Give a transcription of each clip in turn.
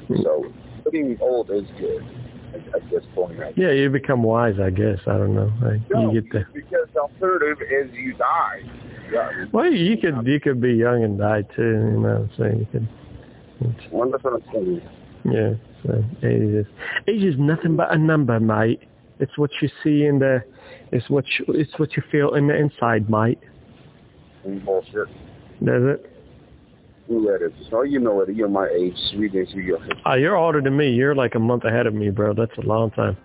So getting old is good at this point. Yeah, you become wise, I guess. I don't know. No, you get the... because the alternative is you die. Yeah. Well, you could be young and die too. You know what I'm saying? You could. Well, that's what I'm saying. Yeah. So age is nothing but a number, mate. It's what you see in the. It's what you feel in the inside, mate. Bullshit. Does it? Yeah, it is. So you know it. You're my age. You're older than me. You're like a month ahead of me, bro. That's a long time.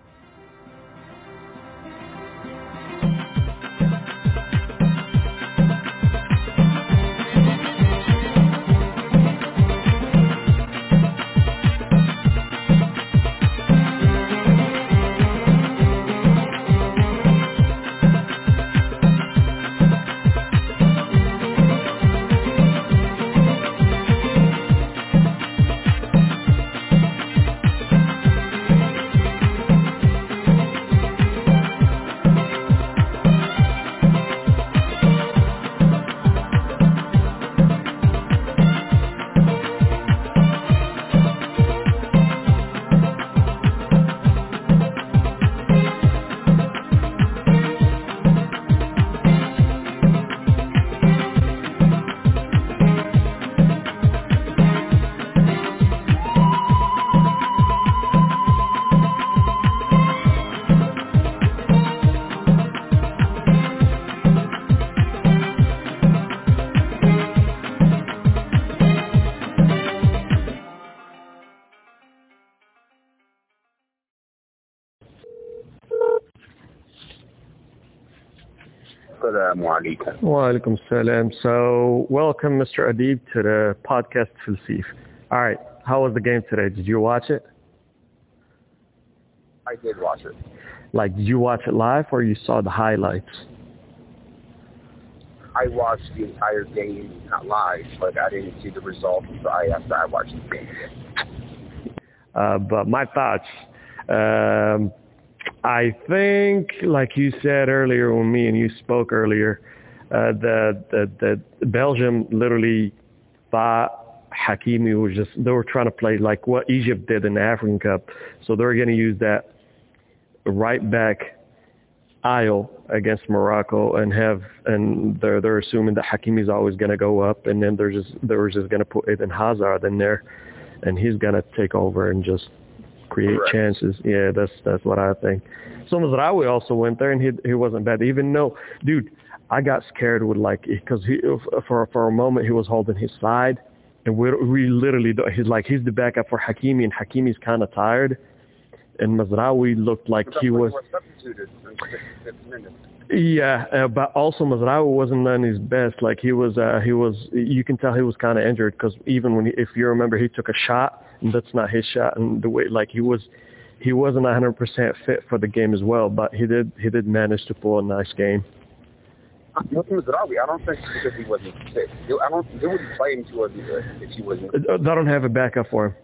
Wa alaikum salam. So, welcome, Mr. Adib, to the podcast Filsif. All right, how was the game today? Did you watch it? I did watch it. Like, did you watch it live or you saw the highlights? I watched the entire game, not live, but I didn't see the results after I watched the game. But my thoughts, I think, like you said earlier when me and you spoke earlier, the Belgium literally thought Hakimi was just, they were trying to play like what Egypt did in the African Cup. So they're going to use that right back aisle against Morocco and they're assuming that Hakimi's always going to go up, and then they were just going to put Eden Hazard in there and he's going to take over and just create chances. Yeah, that's what I think. So Mazraoui also went there and he wasn't bad. Even though, dude, I got scared with because for a moment he was holding his side, and we literally he's the backup for Hakimi, and Hakimi's kind of tired, and Mazraoui looked like he was substituted in 6 minutes. Yeah, but also Mazraoui wasn't on his best. Like he was, you can tell he was kind of injured, because even if you remember, he took a shot and that's not his shot, and the way he wasn't 100% fit for the game as well. But he did manage to pull a nice game. Mazraoui, I don't think because he wasn't fit. They wouldn't play him if he wasn't. They don't have a backup for him.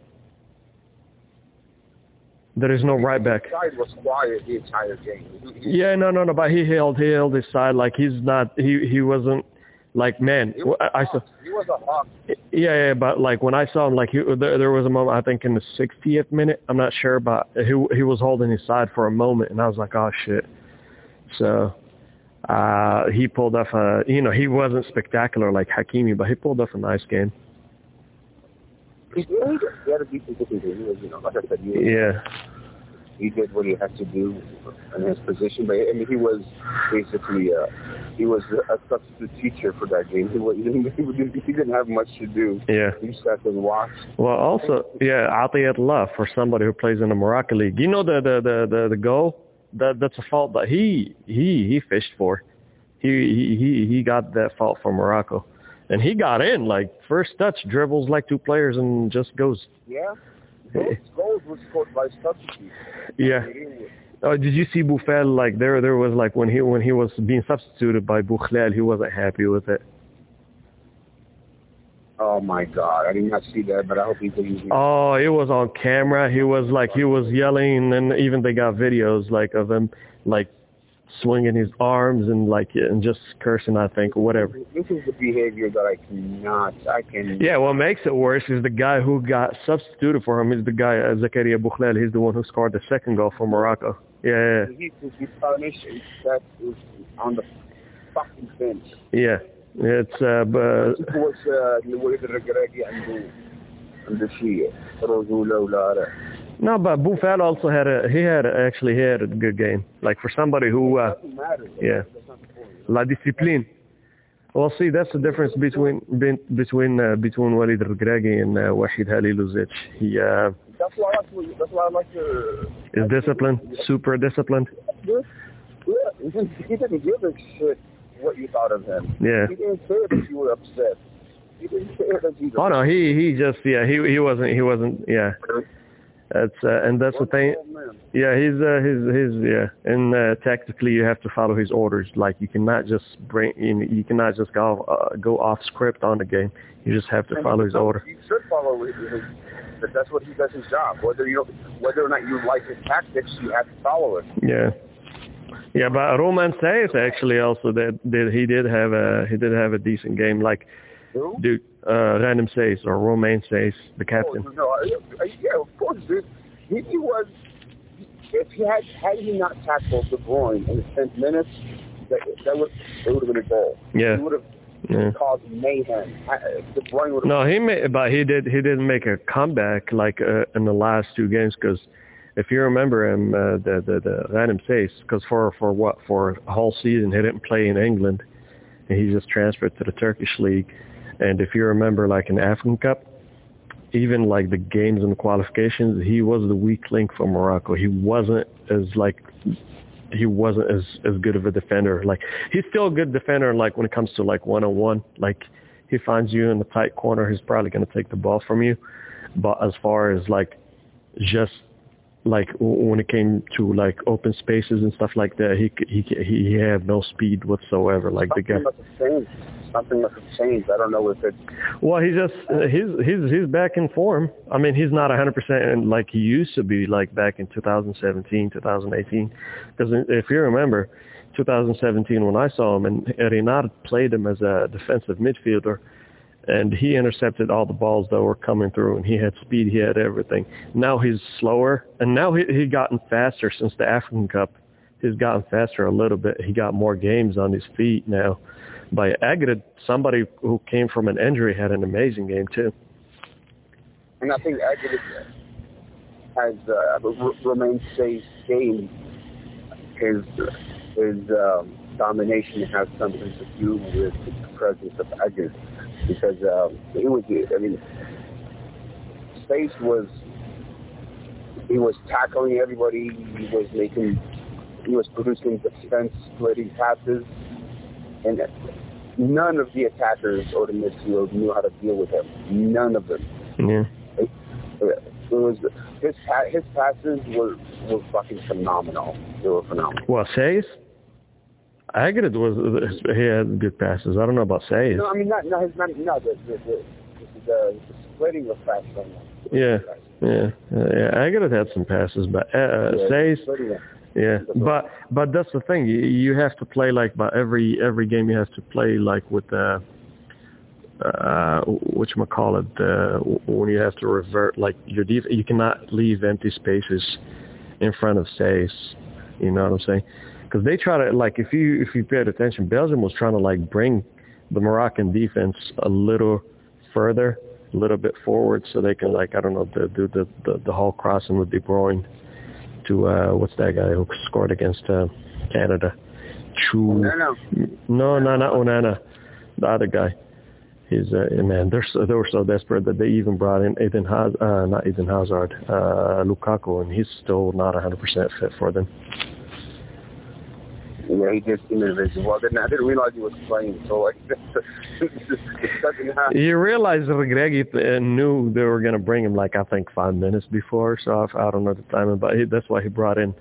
There is no right back. His side was quiet the entire game. Yeah, no, but he held his side. Like he wasn't like, man. He was a hawk. Yeah, but like when I saw him, like there was a moment, I think in the 60th minute, I'm not sure, but he was holding his side for a moment, and I was like, oh shit. So he pulled off he wasn't spectacular like Hakimi, but he pulled off a nice game. He had a decent game. He was, like I said, he did what he had to do in his position. But I mean, he was basically he was a substitute teacher for that game. He didn't have much to do. Yeah. He sat and watched. Well, also, Atiyat Allah, for somebody who plays in the Moroccan league. You know the goal? That's a fault that he fished for. He got that fault for Morocco. And he got in, like, first touch, dribbles like two players and just goes. Yeah. Those goals were scored by substitutes. Yeah. Did you see Boufal? Like, there was, like, when he was being substituted by Boukhlal, he wasn't happy with it. Oh, my God. I did not see that, but I hope he didn't. Oh, it was on camera. He was yelling, and even they got videos, like, of him, like, swinging his arms and and just cursing, I think, or whatever. This is the behavior that I can. Yeah, what makes it worse is the guy who got substituted for him is the guy, Zakaria Bouhlal. He's the one who scored the second goal for Morocco. Yeah. He's punished. That is on the fucking bench. Yeah. It's, but... No, but Bouhlal also had actually had a good game. Like for somebody who, yeah, La Discipline. Well, see, that's the difference between Walid Regragui and Wahid Halilovic. He that's why I like to. Is disciplined, super disciplined. Yeah, he didn't give a shit what you thought of him. Yeah. He didn't care that you were upset. He didn't care that you. Oh no, he just he wasn't yeah. That's and that's the thing. Yeah, he's yeah. And tactically, you have to follow his orders. Like you cannot just you cannot just go off script on the game. You just have to follow his order. You should follow his. But that's what he does his job. Whether or not you like his tactics, you have to follow it. Yeah. Yeah, but Romain Saïss actually also he did have a decent game. Like, dude, Random Saïss or Romain Saïss, the captain. Oh, no, yeah, of course, dude. He was. If he not tackled De Bruyne in the 10th minutes, it would have been a goal. Yeah. He would have caused mayhem. De Bruyne would have. No, he didn't make a comeback like in the last two games because. If you remember him, the Random Saïss, because for a whole season he didn't play in England, and he just transferred to the Turkish league. And if you remember, like in the African Cup, even like the games and the qualifications, he was the weak link for Morocco. He wasn't as good of a defender. Like he's still a good defender. Like when it comes to like 1-on-1, like he finds you in the tight corner, he's probably going to take the ball from you. But as far as like just like when it came to like open spaces and stuff like that, he had no speed whatsoever. Like the guy. Something must have changed. I don't know if it's. Well, he's back in form. I mean, he's not 100% like he used to be, like back in 2017, 2018. Because if you remember, 2017 when I saw him, and Renard played him as a defensive midfielder. And he intercepted all the balls that were coming through, and he had speed, he had everything. Now he's slower, and now he gotten faster since the African Cup. He's gotten faster a little bit. He got more games on his feet now. By Agred, somebody who came from an injury, had an amazing game too. And I think Agred has Romain Saïss' game. His domination has something to do with the presence of Agred. Because Saïss was tackling everybody. He was producing defense-splitting passes, and none of the attackers or the midfield knew how to deal with him. None of them. Yeah. It was his passes were fucking phenomenal. They were phenomenal. Well, Saïss? Agred he had good passes. I don't know about Saïss. No, I mean not the splitting of passes. Yeah. Agred had some passes, but Saïss. Yeah, but that's the thing. You have to play like by every game. You have to play like with whatchamacallit, when you have to revert like your defense. You cannot leave empty spaces in front of Saïss. You know what I'm saying? Because they try to, like, if you paid attention, Belgium was trying to, like, bring the Moroccan defense a little further, a little bit forward, so they can, like, I don't know, do the whole crossing with De Bruyne to, what's that guy who scored against Canada? Onana. No, not Onana. The other guy. He's, man, they were so desperate that they even brought in Lukaku, and he's still not 100% fit for them. Yeah, he did seem invisible. I didn't realize he was playing. So, like, you realize Regragui knew they were going to bring him, like, I think 5 minutes before. So I don't know the timing, but that's why he brought in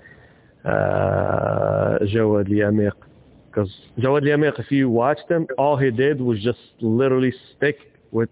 Jawad Liamir. Because Jawad Liamir, if you watched him, all he did was just literally stick with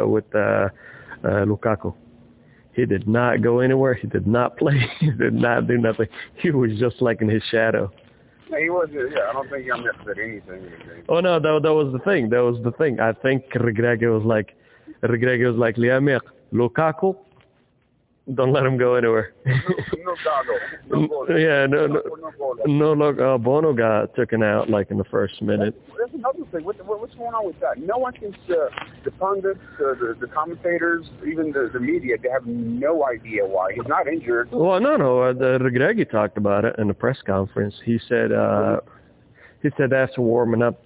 Lukaku. He did not go anywhere. He did not play. He did not do nothing. He was just like in his shadow. He was. Yeah, I don't think he said anything. Oh no, that was the thing. That was the thing. I think Regragui was like, Liamir, Lukaku, don't let him go anywhere. No goggle. Yeah, no. Look, Bono got taken out like in the first minute. That's another thing. What's going on with that? No one can. The pundits, the commentators, even the media, they have no idea why he's not injured. Well, no. Regragui talked about it in the press conference. He said after warming up,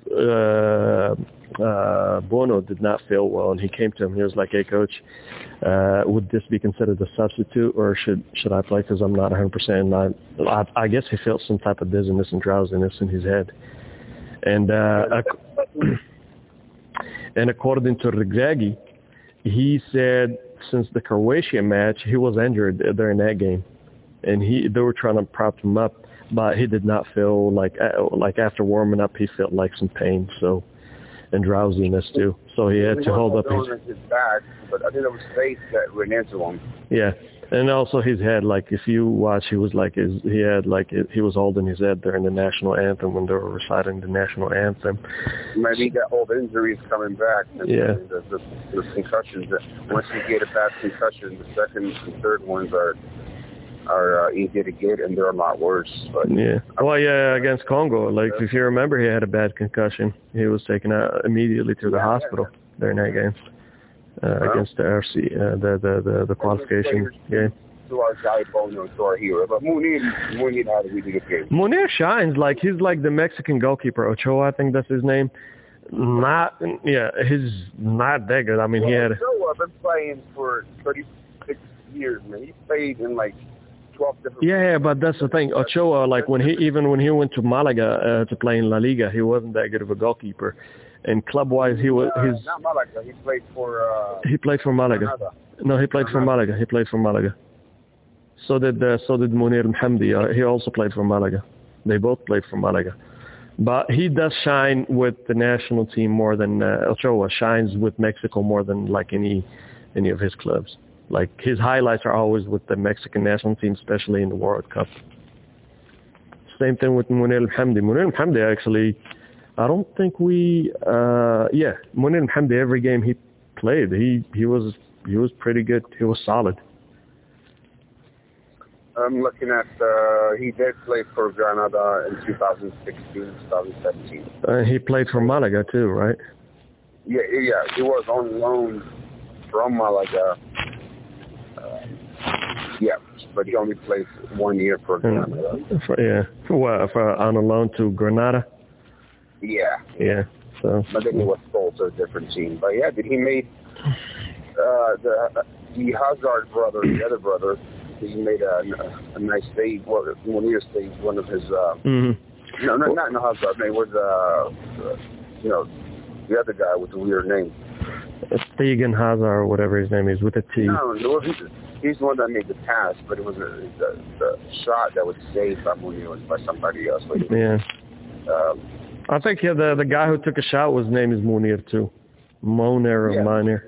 Bono did not feel well, and he came to him. He was like, "Hey, coach, would this be considered a substitute, or should I play? Because I'm not 100%." I guess he felt some type of dizziness and drowsiness in his head, and and according to Regragui, he said since the Croatia match he was injured during that game, and they were trying to prop him up, but he did not feel like after warming up he felt like some pain, and drowsiness too. So he had to hold up his back, but I think it was face that ran into him. Yeah, and also his head. Like if you watch, he was he was holding his head during the national anthem when they were reciting the national anthem. Maybe that old injury is coming back. Yeah. The concussions. Once you get a bad concussion, the second and third ones are easy to get, and they're a lot worse. But yeah. Well, yeah, against Congo, like if you remember, he had a bad concussion. He was taken out immediately to the hospital during that game against the RC, the qualification game. To our guy Bono, to our hero, but Munir had a really good game. Munir shines he's like the Mexican goalkeeper Ochoa, I think that's his name. He's not that good. I mean, he had. Ochoa been playing for 36 years, man. He played in like 12 different. Yeah, but that's the thing. Ochoa, like when he went to Malaga to play in La Liga, he wasn't that good of a goalkeeper. And club-wise, not Malaga. He played for. He played for Malaga. Granada. No, he played for Malaga. He played for Malaga. So did Munir Mhamdi. He also played for Malaga. They both played for Malaga. But he does shine with the national team more than Ochoa shines with Mexico more than like any of his clubs. Like his highlights are always with the Mexican national team, especially in the World Cup. Same thing with Munir Mhamdi. Munir Mhamdi actually, I don't think Munir Mhamdi, every game he played, he was pretty good. He was solid. I'm looking at, he did play for Granada in 2016, 2017. He played for Malaga too, right? Yeah, he was on loan from Malaga. But he only played 1 year for Granada. For on a loan to Granada? Yeah. Yeah, so. But then he was sold to a different team. But yeah, he made the Hazard brother, the other brother, he made a nice save. Munir saved one of his. No, not Hazard. It was the other guy with the weird name. Stegen Hazard or whatever his name is with a T. No, he's the one that made the pass, but it was the shot that was saved by Munir was by somebody else. Yeah. I think the guy who took a shot, his name is Munir too. Munir or Munir.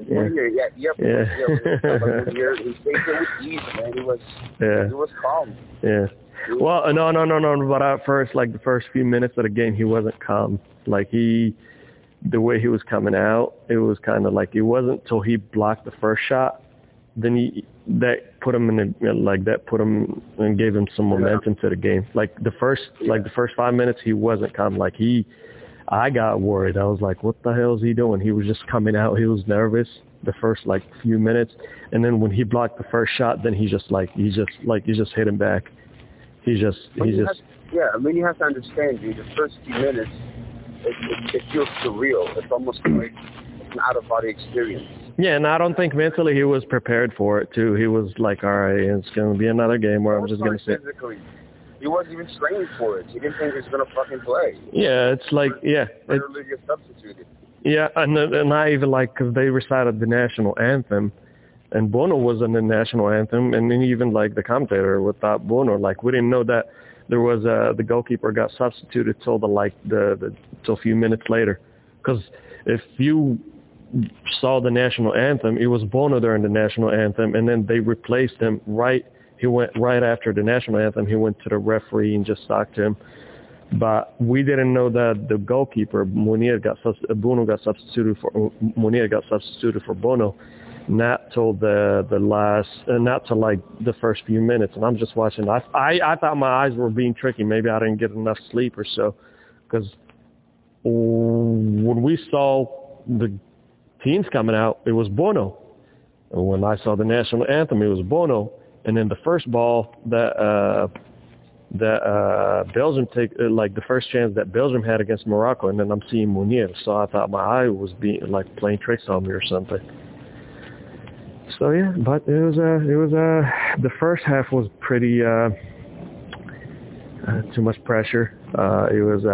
Munir, he saved it with ease, man. He was calm. Yeah. Well, no. But at first, like the first few minutes of the game, he wasn't calm. Like the way he was coming out, it was kind of like it wasn't till he blocked the first shot. Then that put him and gave him some momentum to the game. Like the first 5 minutes, he wasn't calm. Like I got worried. I was like, what the hell is he doing? He was just coming out. He was nervous the first few minutes, and then when he blocked the first shot, then he just hit him back. I mean, you have to understand, dude. The first few minutes, it feels surreal. It's almost like it's an out-of-body experience. Yeah, and I don't think mentally he was prepared for it, too. He was like, all right, it's going to be another game where I'm just going to sit. Physically. He wasn't even training for it. He didn't think he was going to fucking play. Yeah, it's like, Literally get substituted. Yeah, and not even because they recited the national anthem, and Bono was in the national anthem, and then even the commentator without Bono, we didn't know that there was the goalkeeper got substituted till till a few minutes later, because if you saw the national anthem, it was Bono during the national anthem, and then they replaced him right. He went right after the national anthem. He went to the referee and just talked to him. But we didn't know that the goalkeeper Munir got substituted for Bono, not till not till like the first few minutes. And I'm just watching. I thought my eyes were being tricky. Maybe I didn't get enough sleep or so, because when we saw the teams coming out, it was Bono. And when I saw the national anthem, it was Bono. And then the first ball that Belgium the first chance that Belgium had against Morocco, and then I'm seeing Munir. So I thought my eye was being like playing tricks on me or something. So yeah, but it was the first half was pretty too much pressure. It was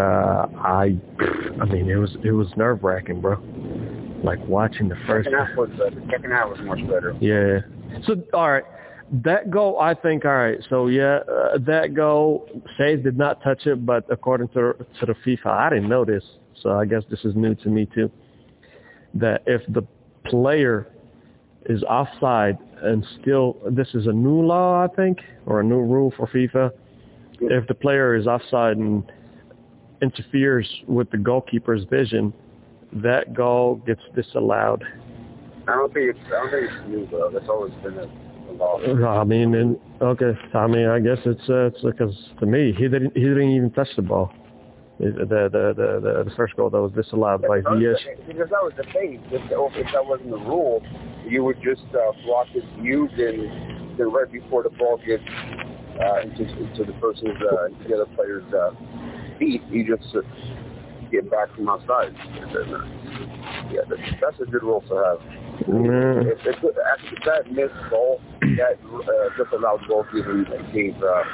it was nerve-wracking, bro. Like watching the first half was better. The second half was much better. Yeah. So all right, that goal, I think. All right. So yeah, that goal, Says did not touch it, but according to the FIFA, I didn't know this, so I guess this is new to me too. That if the player is offside and still, this is a new law, I think, or a new rule for FIFA. If the player is offside and interferes with the goalkeeper's vision, that goal gets disallowed. I don't think it's new, though. That's always been a law. I mean, I guess it's because to me, he didn't even touch the ball. The first goal that was disallowed by Ziyech. Because that was the thing. If that wasn't the rule, you would just block his view, then right before the ball gets into the person's, the other player's feet, you just get back from outside. Yeah, that's a good rule to have. If that missed ball, that just allowed goalkeepers and gave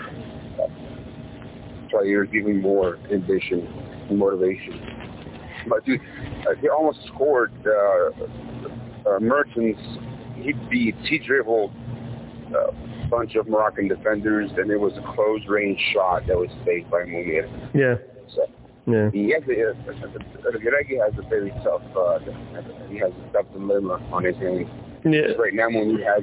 players giving more ambition and motivation. But dude, he almost scored. Mertens, he dribbled a bunch of Moroccan defenders, and it was a close-range shot that was saved by Munir. Yeah. So, yeah. Reguilón has a very tough. He has a tough dilemma on his hands. Yeah. Right now, when he has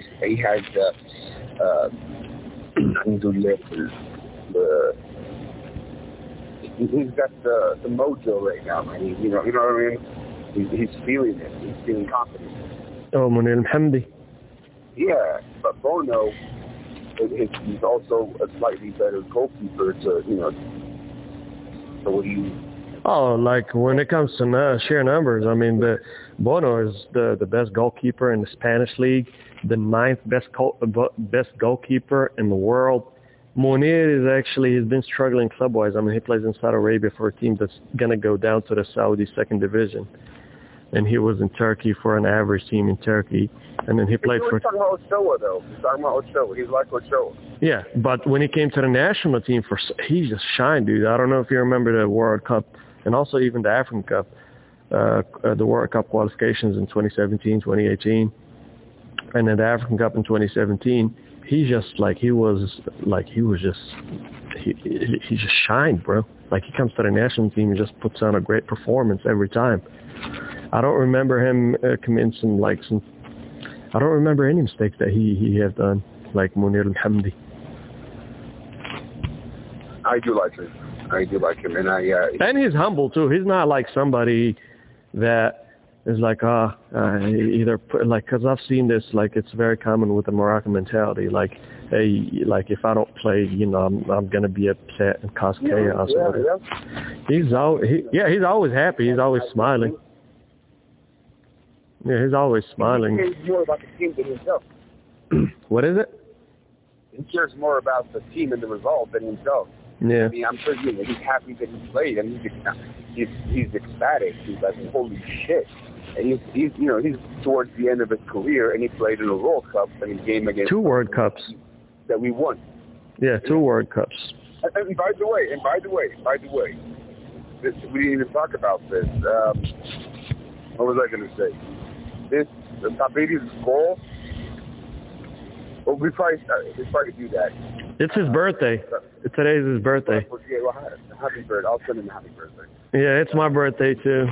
he's got the mojo right now, man. You know what I mean? He's feeling it. He's feeling confident. Oh, Munir Al-Hamdi. Yeah, but Bono, he's also a slightly better goalkeeper like when it comes to sheer numbers, I mean, Bono is the best goalkeeper in the Spanish league, the 9th best goalkeeper in the world. Munir he's been struggling club-wise. I mean, he plays in Saudi Arabia for a team that's going to go down to the Saudi second division. And he was in Turkey for an average team in Turkey. And then he played for... He's talking about Ochoa, though. He's talking about Ochoa. He's like Ochoa. Yeah, but when he came to the national team, he just shined, dude. I don't know if you remember the World Cup and also even the African Cup, the World Cup qualifications in 2017, 2018, and then the African Cup in 2017. He just shined, bro. Like, he comes to the national team and just puts on a great performance every time. I don't remember him committing I don't remember any mistakes that he has done, like Munir Al-Hamdi. I do like him, and he's humble too. He's not like somebody that is like because I've seen this, like, it's very common with the Moroccan mentality, like, hey, like, if I don't play, I'm gonna be upset and cause chaos. He's always happy. He's always smiling. Yeah, he's always smiling. He cares more about the team than himself. What is it? He cares more about the team and the result than himself. Yeah. I mean, I'm sure he's happy that he played, and he's ecstatic. He's like, holy shit. And he's towards the end of his career, and he played in a World Cup and a game against 2 World Cups that we won. Yeah, 2 World Cups. And by the way, we didn't even talk about this. What was I going to say? The Tabiri's goal. Well, we probably do that. It's his birthday. Today's his birthday. Yeah, well, happy birthday. I'll send him a happy birthday. Yeah, it's my birthday too.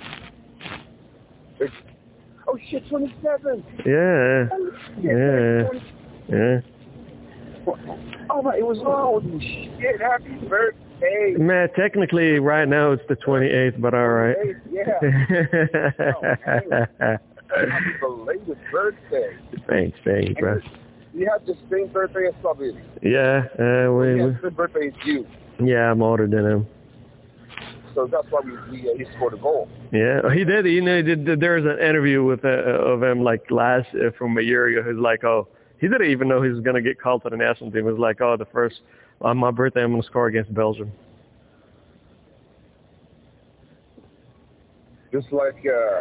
Oh shit, 27. Yeah. Yeah. Oh my, it was holy shit. Happy birthday. 28th. Man, technically, right now it's the 28th, but all right. Yeah. Happy belated birthday. Thanks, bro. You have the same birthday as Sabiri. Yeah, His birthday is you. Yeah, I'm older than him. So that's why he scored a goal. Yeah, he did. You know, there was an interview with of him like from a year ago. He's like, oh, he didn't even know he was gonna get called to the national team. It was like, oh, on my birthday, I'm gonna score against Belgium. Just like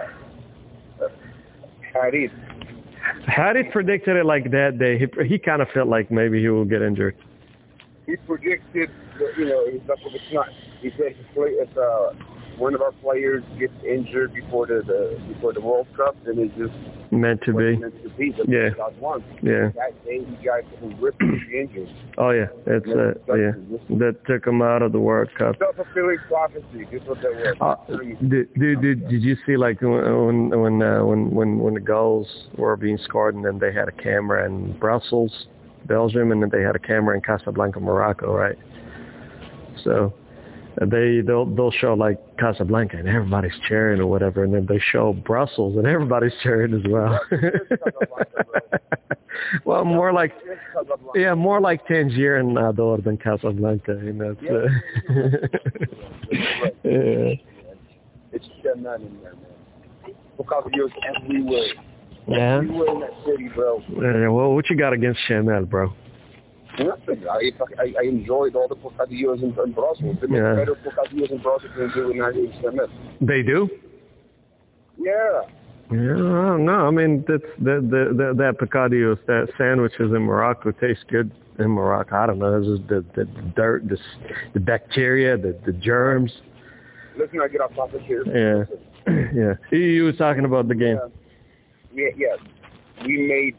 Harit. Harit predicted it like that day. He kind of felt like maybe he will get injured. He predicted that, it's not. He said if one of our players gets injured before the World Cup, then it's just meant to be. Yeah. Yeah. That day, he got ripped injured. Oh yeah, that took him out of the World Cup. Self-fulfilling prophecy. This is what that was. Did you see like when the goals were being scored and then they had a camera in Brussels, Belgium, and then they had a camera in Casablanca, Morocco, right? So they'll show like Casablanca and everybody's cheering or whatever, and then they show Brussels and everybody's cheering as well. Well, more like Tangier and Nador than Casablanca, It's Shemal in there, man. Bocadillos everywhere. Yeah. Everywhere in that city, bro. Well, what you got against Shemal, bro? Nothing. I enjoyed all the bocadillos in Brussels. They make better bocadillos in Brussels than they do in Shemal. They do? Yeah. Yeah, no, I mean that bocadillos, that sandwiches in Morocco taste good in Morocco. I don't know, it's just the dirt, the bacteria, the germs. Let's not get off topic here. Yeah, yeah. You were talking about the game. Yeah. We made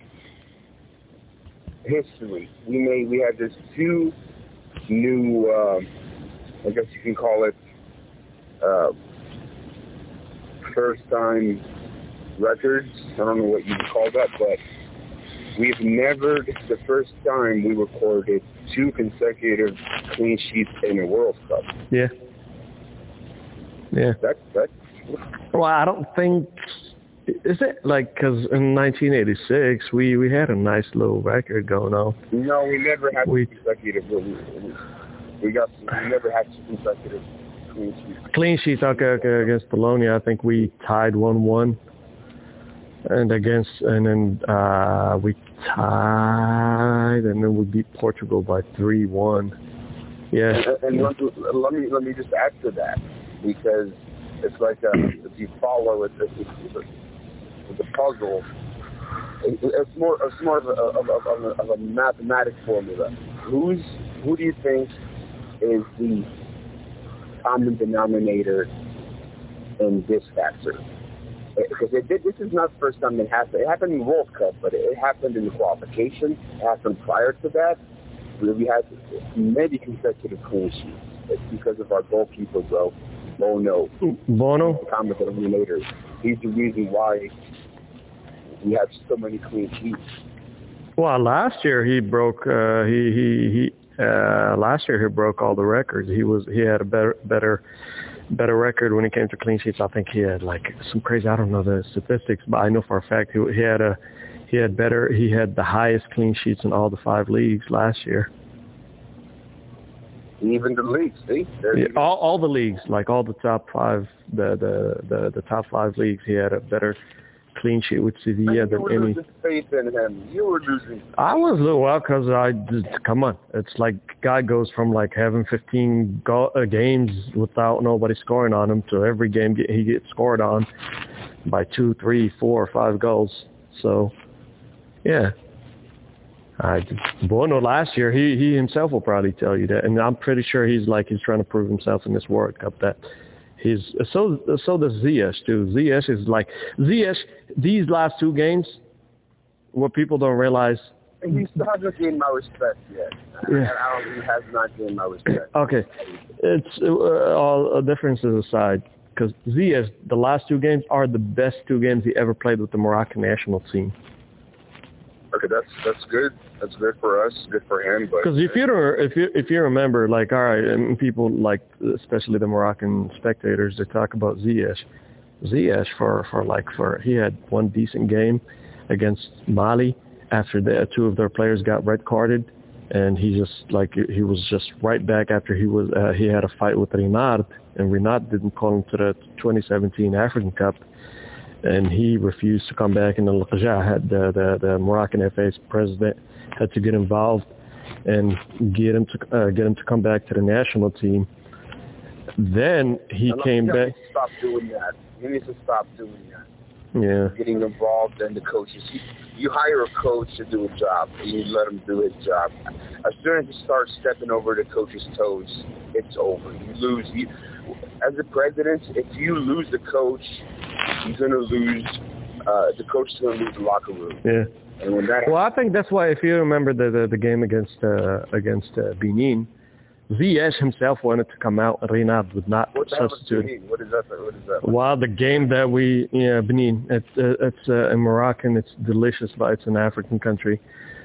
history. We had this 2 new, I guess you can call it, first time records. I don't know what you would call that, but we've never, this is the first time we recorded 2 consecutive clean sheets in a World Cup. Yeah. Yeah. That's well, I don't think, is it like, because in 1986 we had a nice little record going on. No, we never had consecutive. We never had 2 consecutive clean sheets. Clean sheets, okay, against Bologna, I think we tied 1-1. And then we tied, and then we beat Portugal by 3-1. Yeah. And let me just add to that, because it's like if you follow it, the puzzle. It's more of a mathematic formula. Who do you think is the common denominator in this factor? Because this is not the first time it happened. It happened in the World Cup, but it happened in the qualification. It happened prior to that. We had many consecutive clean sheets. It's because of our goalkeeper, bro. Bono? Common denominator. He's the reason why we have so many clean sheets. Well, last year he broke. Last year he broke all the records. He had a better record when it came to clean sheets. I think he had like some crazy, I don't know the statistics, but I know for a fact he had the highest clean sheets in all the 5 leagues last year. Even the leagues, see? All the leagues, like all the top 5, the top 5 leagues, he had a better clean sheet with Sevilla than any. You were losing faith in him. You were losing. I was, well, because come on. It's like guy goes from like having 15 games without nobody scoring on him to every game he gets scored on by 2, 3, 4, 5 goals. So, yeah. Bono last year, he himself will probably tell you that, and I'm pretty sure he's trying to prove himself in this World Cup that so does Ziyech too. Ziyech is like these last 2 games, what people don't realize. He still hasn't gained my respect yet. Yeah. He has not gained my respect. Okay, it's all differences aside, because Ziyech, the last 2 games are the best 2 games he ever played with the Moroccan national team. Okay, that's good. That's good for us. Good for him. Because if you remember, like, all right, and people like, especially the Moroccan spectators, they talk about Ziyech. Ziyech for he had one decent game against Mali after two of their players got red carded, and he was just right back after he had a fight with Renard, and Renard didn't call him to the 2017 African Cup. And he refused to come back, and the the Moroccan FA's president had to get involved and get him to come back to the national team. Then he came back. Stop doing that. He needs to stop doing that. Yeah. Getting involved in the coaches. You hire a coach to do a job, and you let him do his job. As soon as you start stepping over the coach's toes, it's over. You lose. As a president, if you lose the coach, you're going to lose. The coach is going to lose the locker room. Yeah. And when that I think that's why, if you remember the game against Benin, Ziyech himself wanted to come out, and Renard would not substitute. What is that? Well, the game that Benin, it's in Moroccan, it's delicious, but it's an African country.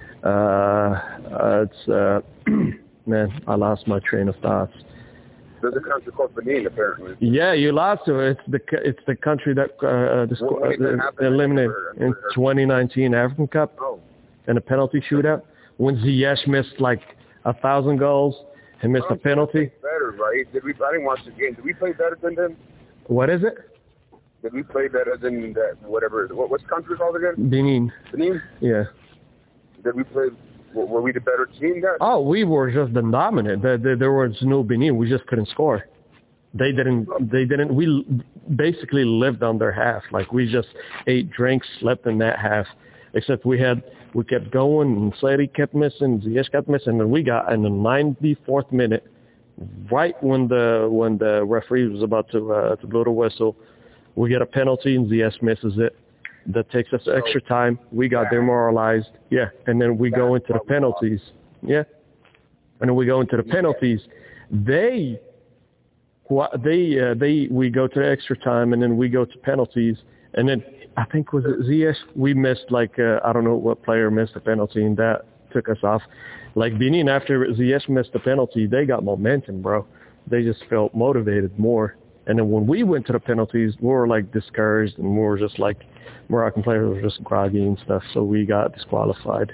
Man, I lost my train of thoughts. There's a country called Benin, apparently. Yeah, you lost to it. It's the country that eliminated in 2019 African Cup in a penalty shootout when Ziyech missed like 1,000 goals. He missed a penalty. Better, right? I didn't watch the game. Did we play better than them? What is it? Did we play better than that? Whatever. What's the country called again? Benin. Benin? Yeah. Did we play? Were we the better team there? Oh, we were just the dominant. There was no Benin. We just couldn't score. They didn't. We basically lived on their half. Like, we just ate, drank, slept in that half. Except we kept going, and Sleri kept missing, Ziyech kept missing, and we got in the 94th minute, right when the referee was about to blow the whistle, we get a penalty, and Ziyech misses it. That takes us extra time. We got demoralized. Yeah, and then we go into the penalties. Yeah, and then we go into the penalties. We go to the extra time, and then we go to penalties, and then I think was it Ziyech? We missed I don't know what player missed the penalty, and that took us off. Like Benin, after Ziyech missed the penalty, they got momentum, bro. They just felt motivated more. And then when we went to the penalties, we were like discouraged, and we were just like, Moroccan players were just groggy and stuff, so we got disqualified.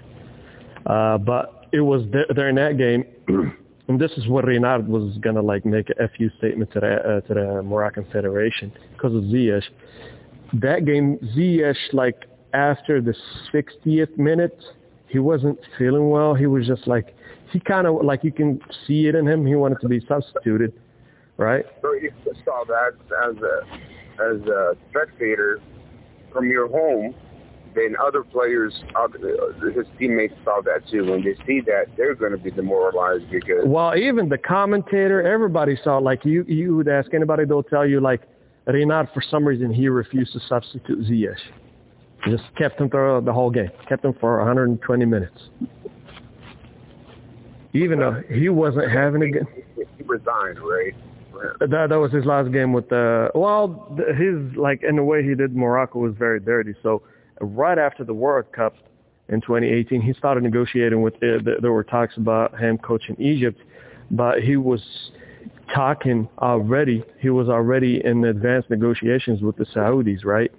But it was during that game, and this is what Renard was gonna make a FU statement to the Moroccan Federation because of Ziyech. That game, Ziyech, after the 60th minute, he wasn't feeling well. He was just he kind of you can see it in him. He wanted to be substituted, right? So you saw that as a spectator from your home, then other players, his teammates saw that too. When they see that, they're going to be demoralized because... Well, even the commentator, everybody saw, you would ask anybody, they'll tell you, Renard, for some reason, he refused to substitute Ziyech. He just kept him through the whole game. Kept him for 120 minutes. Even though he wasn't having a good... He resigned, right? That was his last game with in the way he did Morocco was very dirty. So right after the World Cup in 2018, he started negotiating with, there were talks about him coaching Egypt, but he was talking already. He was already in advanced negotiations with the Saudis, right?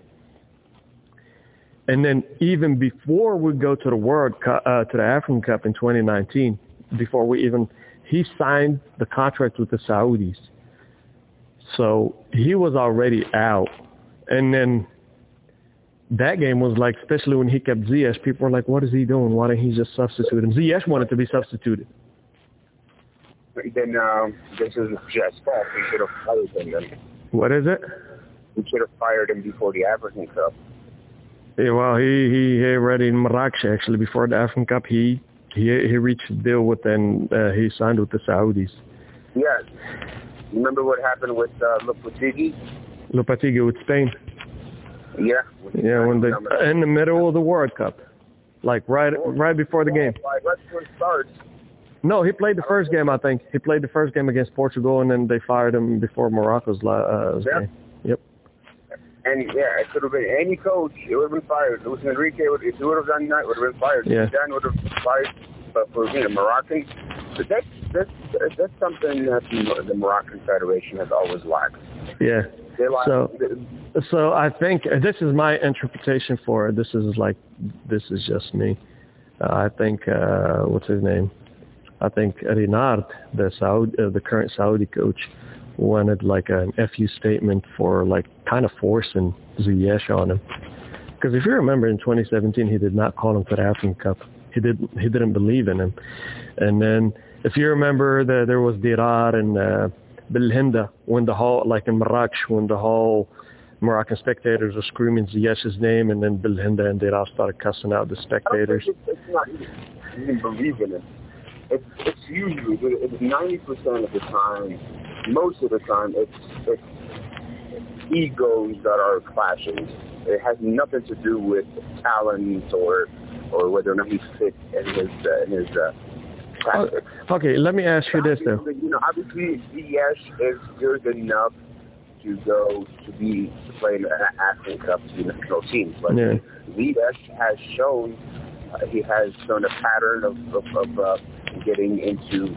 And then even before we go to the World Cup, to the African Cup in 2019, he signed the contract with the Saudis. So he was already out. And then that game was especially when he kept Ziyech, people were like, what is he doing? Why didn't he just substitute him? Ziyech wanted to be substituted. Then this is Jeff's fault. We should have fired him then. What is it? We should have fired him before the African Cup. Yeah, well, he already in Marrakech, actually, before the African Cup, he reached a deal with, and he signed with the Saudis. Yeah. Remember what happened with Lopetegui? Lopetegui with Spain. Yeah. Yeah, when in the middle of the World Cup, right before the game. Right before it starts. No, he played the first game, I think. He played the first game against Portugal, and then they fired him before Morocco's game. Yep. And yeah, it could have been any coach. It would have been fired. Luis Enrique, if he would have done that, would have been fired. Yeah. Dan would have been fired. But for Moroccan, but that's something that the Moroccan Federation has always lacked. Yeah. So I think this is my interpretation for it. This is just me. I think what's his name? I think Renard, the current Saudi coach, wanted like an FU statement for like kind of forcing Ziyech on him. Because if you remember in 2017, he did not call him to the African Cup. He didn't believe in him. And then if you remember, there was Dirar and Bilhinda when the whole, like in Marrakech, when the whole Moroccan spectators were screaming Ziyech's name, and then Bilhinda and Dirar started cussing out the spectators. It's not even believe in it. It's usually 90% of the time, most of the time, it's egos that are clashing. It has nothing to do with talent or whether or not he's fit in his tactics. Okay, let me ask you this though. Obviously, Ziyech is good enough to play in an African Cup to the national team, but Ziyech has shown a pattern of getting into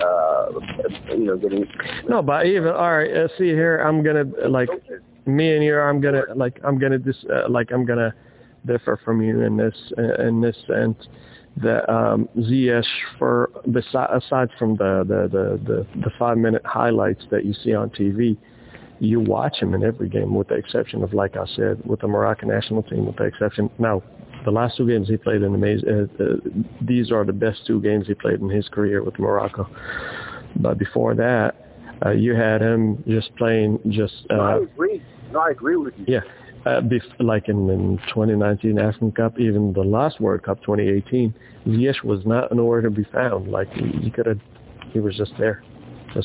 getting. No, but even all right. See here, I'm gonna like me and you. I'm gonna differ from you in this sense that Ziyech, aside from the 5-minute highlights that you see on TV, you watch him in every game with the exception of, like I said, with the Moroccan national team, with the exception. Now, the last 2 games he played in these are the best 2 games he played in his career with Morocco. But before that, you had him just playing I agree with you. Yeah. Like in 2019 African Cup, even the last World Cup 2018, Ziyech was not nowhere to be found. Like he was just there, just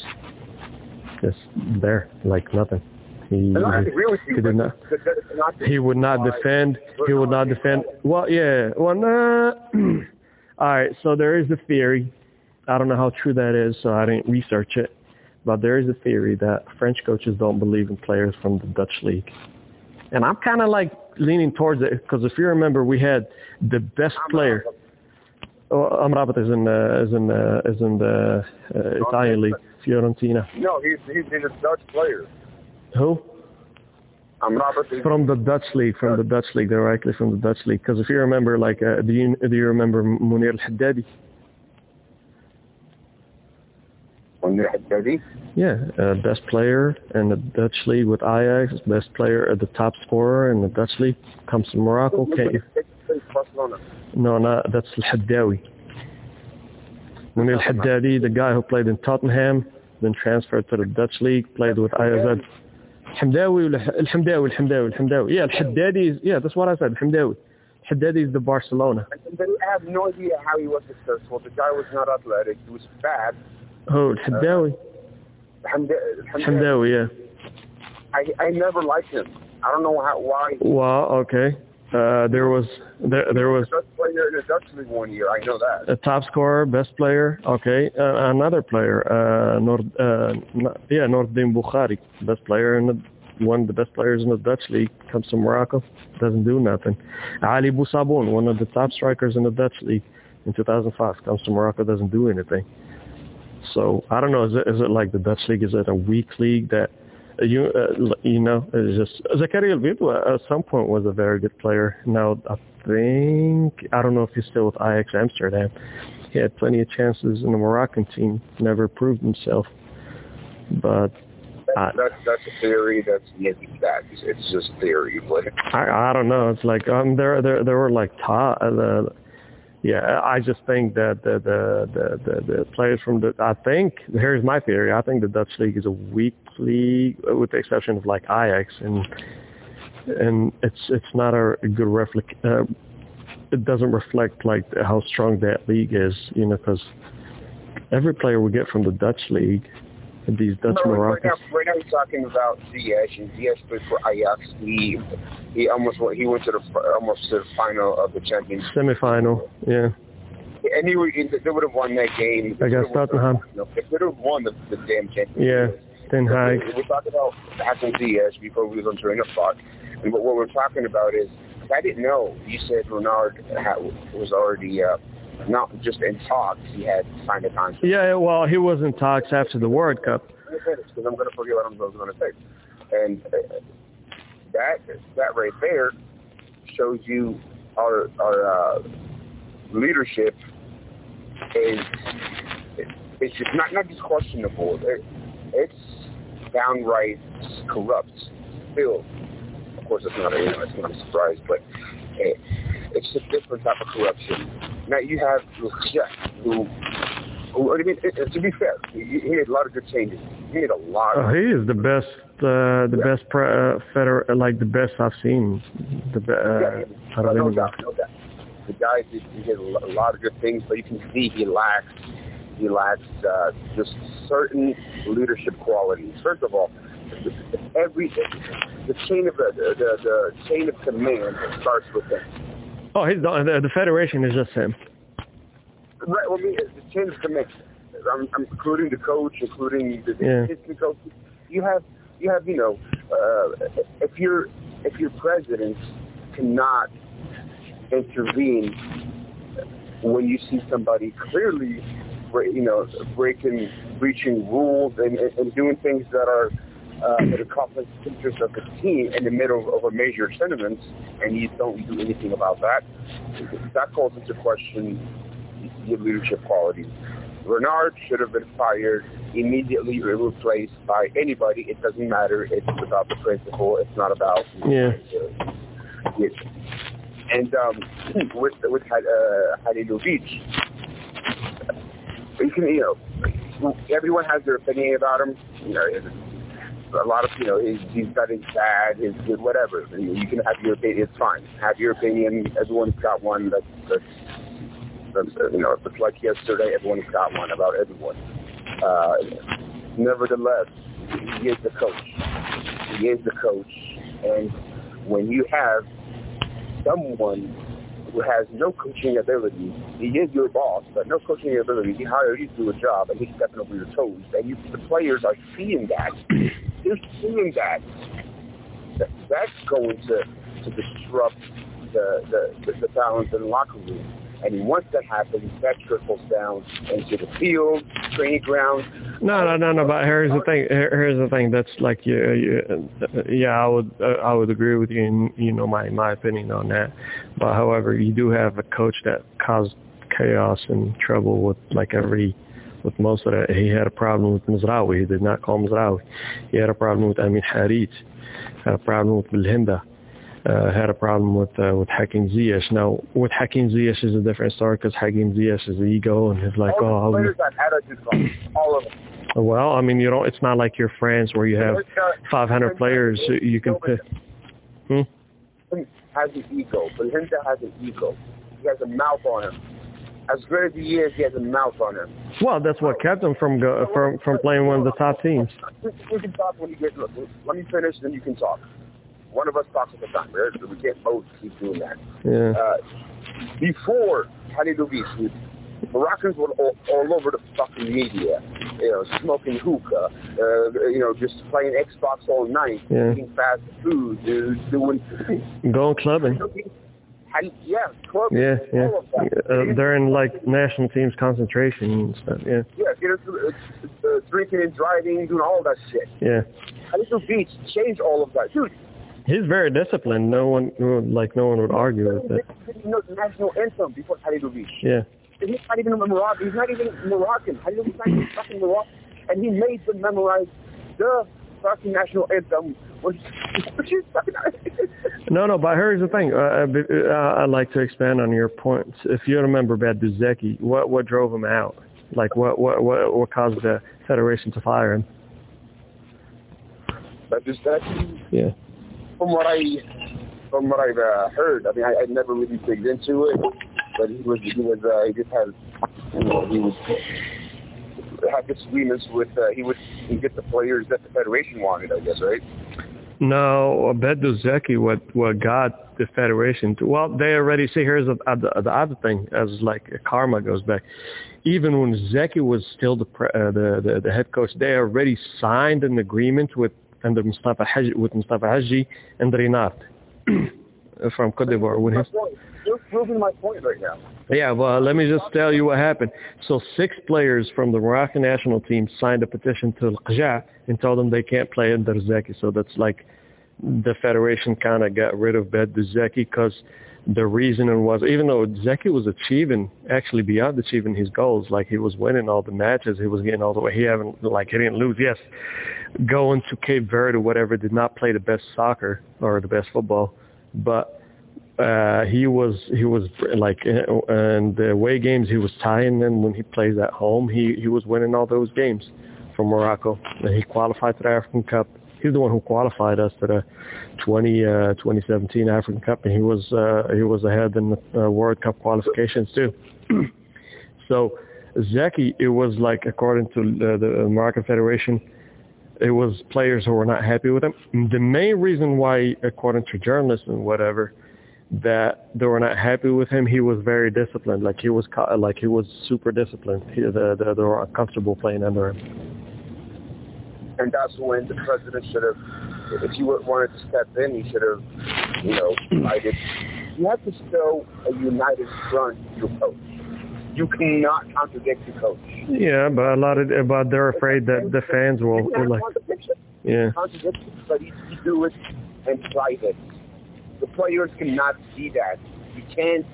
there, like nothing. He would not defend. Well, yeah. Well, nah. All right. So there is a theory. I don't know how true that is, so I didn't research it. But there is a theory that French coaches don't believe in players from the Dutch league. And I'm kind of like leaning towards it because if you remember, we had the best player. Amrabat is in the Italian league, Fiorentina. No, he's a Dutch player. Who? Amrabat from the Dutch league, directly from the Dutch league. Because if you remember, like, do you remember Munir Al-Haddadi? Yeah, best player in the Dutch league with Ajax, best player, the top scorer in the Dutch league, comes from Morocco. No, that's Al-Haddawi. Munir Al-Haddadi, the guy who played in Tottenham, then transferred to the Dutch league, played with Ajax. Al-Hamdawi. Yeah, Al-Haddadi is, yeah, that's what I said, Al-Hamdawi. Al-Haddadi is the Barcelona. But I have no idea how he was successful. The guy was not athletic. He was fat. Oh, Al-Haddadi. Al-Hamdawi, yeah. I never liked him. I don't know why. Well, okay. There was best player in the Dutch league 1 year. I know that. A top scorer, best player. Okay, another player. Noordin Bukhari, best player one of the best players in the Dutch league, comes to Morocco, doesn't do nothing. Ali Bousaboun, one of the top strikers in the Dutch league in 2005, comes to Morocco, doesn't do anything. So I don't know. Is it like the Dutch league? Is it a weak league that it's just Zakaria Albido at some point was a very good player. Now I don't know if he's still with Ajax Amsterdam. He had plenty of chances in the Moroccan team, never proved himself. But that's a theory. It's just theory. I don't know. It's like there were like I just think that the players from here's my theory. I think the Dutch league is a weak league, with the exception of like Ajax, and it's not a good it doesn't reflect like how strong that league is, because every player we get from the Dutch league, these Dutch Moroccans. Right now we're talking about Ziyech, and Ziyech played for Ajax. He went to the final of the Champions League. Semi-final, yeah. And they would have won that game. Against Tottenham. They would have won the damn Champions League. Yeah. Ten Hag. We're talking about Hakim Ziyech before we was on train of thought. And what we're talking about is, I didn't know. You said Renard was already not just in talks. He had signed a contract. Yeah, well, he was in talks after the World Cup. Because I'm going to forget what I was going to say. And that right there shows you our leadership is it's just not just questionable. It's downright corrupt. Still, of course, it's not a surprise, but it's a different type of corruption. Now you have Jeff, who I mean, to be fair, he made a lot of good changes. He made a lot. He is the best, the best I've seen. No doubt. The guy did a lot of good things, but you can see he lacks just certain leadership qualities. First of all, the chain of command starts with him. Oh, the federation is just him. Right. Well, I mean, the chain of command. I'm including the coach, including the assistant coach. You have if your president cannot intervene when you see somebody clearly, breaching rules and doing things that are that are conflict of interest of the team in the middle of a major tournament, and you don't do anything about that, that calls into question your leadership qualities. Renard should have been fired, immediately replaced by anybody. It doesn't matter. It's about the principle. It's not about And with Halilovic, you can everyone has their opinion about him. A lot of he's got his bad, his good, whatever. You can have your opinion. It's fine. Have your opinion. Everyone's got one. That's if it's like yesterday, everyone's got one about everyone. Nevertheless, he is the coach. He is the coach, and when you have someone who has no coaching ability, he is your boss, but no coaching ability, he hired you to do a job, and he's stepping over your toes. And the players are seeing that. They're seeing that. That's going to disrupt the balance in the locker room. And once that happens, that trickles down into the field, training ground. No. But here's the thing. That's like I would agree with you. And my opinion on that. But however, you do have a coach that caused chaos and trouble with most of that. He had a problem with Mizraoui. He did not call Mizraoui. He had a problem with Amin Harit. Had a problem with Belhanda. Had a problem with Hakim Ziyech. Now, with Hakim Ziyech is a different story because Hakim Ziyech is ego and he's like, all the players that attitude, all of them. Well, I mean, it's not like you're France where you have 500 players you can pick. Has an ego. Belhanda has an ego. He has a mouth on him. As great as he is, he has a mouth on him. Well, that's what kept him from playing one of the top teams. We can talk when you get. Look, let me finish, then you can talk. One of us talks at the time. We can't both keep doing that. Yeah. Before Halilovic, Moroccans were all over the fucking media, smoking hookah, just playing Xbox all night, eating fast food, doing... Going clubbing. Clubbing. Yeah. They're in national teams concentration and stuff, it's drinking and driving, doing all that shit. Yeah. Halilovic changed all of that. Dude, he's very disciplined. No one would argue with it. He knows the national anthem before Halilovic. Yeah. He's not even Moroccan. He's not even Moroccan. Halilovic's not even fucking Moroccan. And he made them memorize the fucking national anthem. No, but here's the thing. I'd like to expand on your points. If you remember Berduzeki, what drove him out? Like what caused the federation to fire him? Berduzeki? Yeah. From what I've heard, I mean, I never really digged into it, but he just had disagreements with, he would get the players that the federation wanted, I guess, right? No, Bedu Zeki, what got the federation to, well, they already see, here's the other thing, as like karma goes back. Even when Zeki was still the head coach, they already signed an agreement with Mustafa Haji and Rinat from Côte d'Ivoire. You're proving my point right now. Yeah, well, let me just tell you what happened. So 6 players from the Moroccan national team signed a petition to Al-Qajaa and told them they can't play under Zeki. So that's like the federation kind of got rid of Bedu Zeki because the reasoning was, even though Zeki was actually beyond achieving his goals, like he was winning all the matches, he was getting all the way, he didn't lose. Yes, going to Cape Verde or whatever, did not play the best soccer or the best football, but he was like in the away games he was tying, and when he plays at home he was winning all those games for Morocco. And he qualified to the African Cup. He's the one who qualified us to the 2017 African Cup, and he was ahead in the World Cup qualifications too. So Zeki, it was like, according to the Moroccan Federation, it was players who were not happy with him. The main reason why, according to journalists and whatever, that they were not happy with him, he was very disciplined. Like he was super disciplined. They were uncomfortable playing under him. And that's when the president should have, if he wanted to step in, he should have, united. You have to show a united front to your coach. You cannot contradict your coach. Yeah, but they're afraid that the fans will like. Yeah. Contradiction, but you do it in private. The players cannot see that. You can't.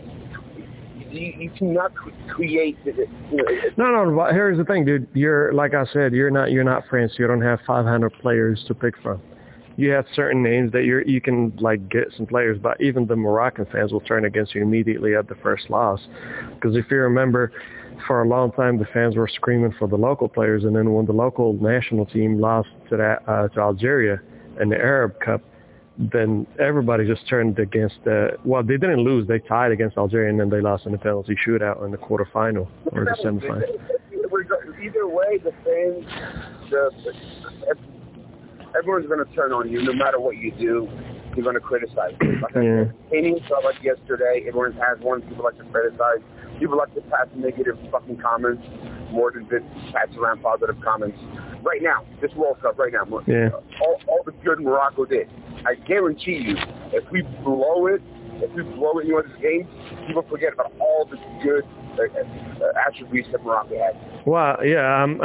You cannot create. No. But here's the thing, dude. You're, like I said, you're not France. You don't have 500 players to pick from. You have certain names that you can like get some players, but even the Moroccan fans will turn against you immediately at the first loss. Because if you remember, for a long time the fans were screaming for the local players, and then when the local national team lost to Algeria in the Arab Cup, then everybody just turned against they didn't lose, they tied against Algeria, and then they lost in the penalty shootout in the quarterfinal or the semifinal. Either way, the fans, everyone's going to turn on you no matter what you do. You're going to criticize you. Painting felt like yesterday, everyone has one. People like to criticize. People like to pass negative fucking comments more than just pass around positive comments. Right now, this World Cup, right now, all the good Morocco did. I guarantee you, if we blow it in one of these games, people forget about all the good attributes that Morocco had. Well, yeah,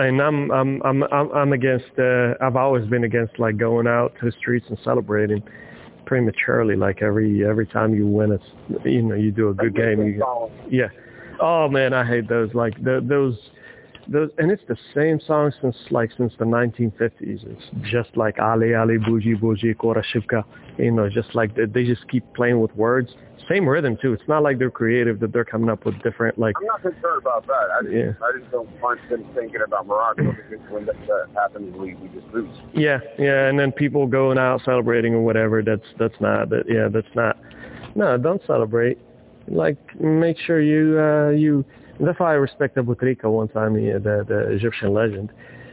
I'm against. I've always been against like going out to the streets and celebrating prematurely. Like every time you win, it's you do a good game. Yeah. Oh man, I hate those. Like those, and it's the same song since the 1950s. It's just like Ali Ali Bougie Bougie Kora Shivka. Just like they just keep playing with words. Same rhythm too. It's not like they're creative, that they're coming up with different like. I'm not concerned about that. I just don't want them thinking about Morocco, because when that happens, we just lose. Yeah, and then people going out celebrating or whatever. That's not. No, don't celebrate. Like, make sure you. That's why I respect Bouteflika one time, the Egyptian legend.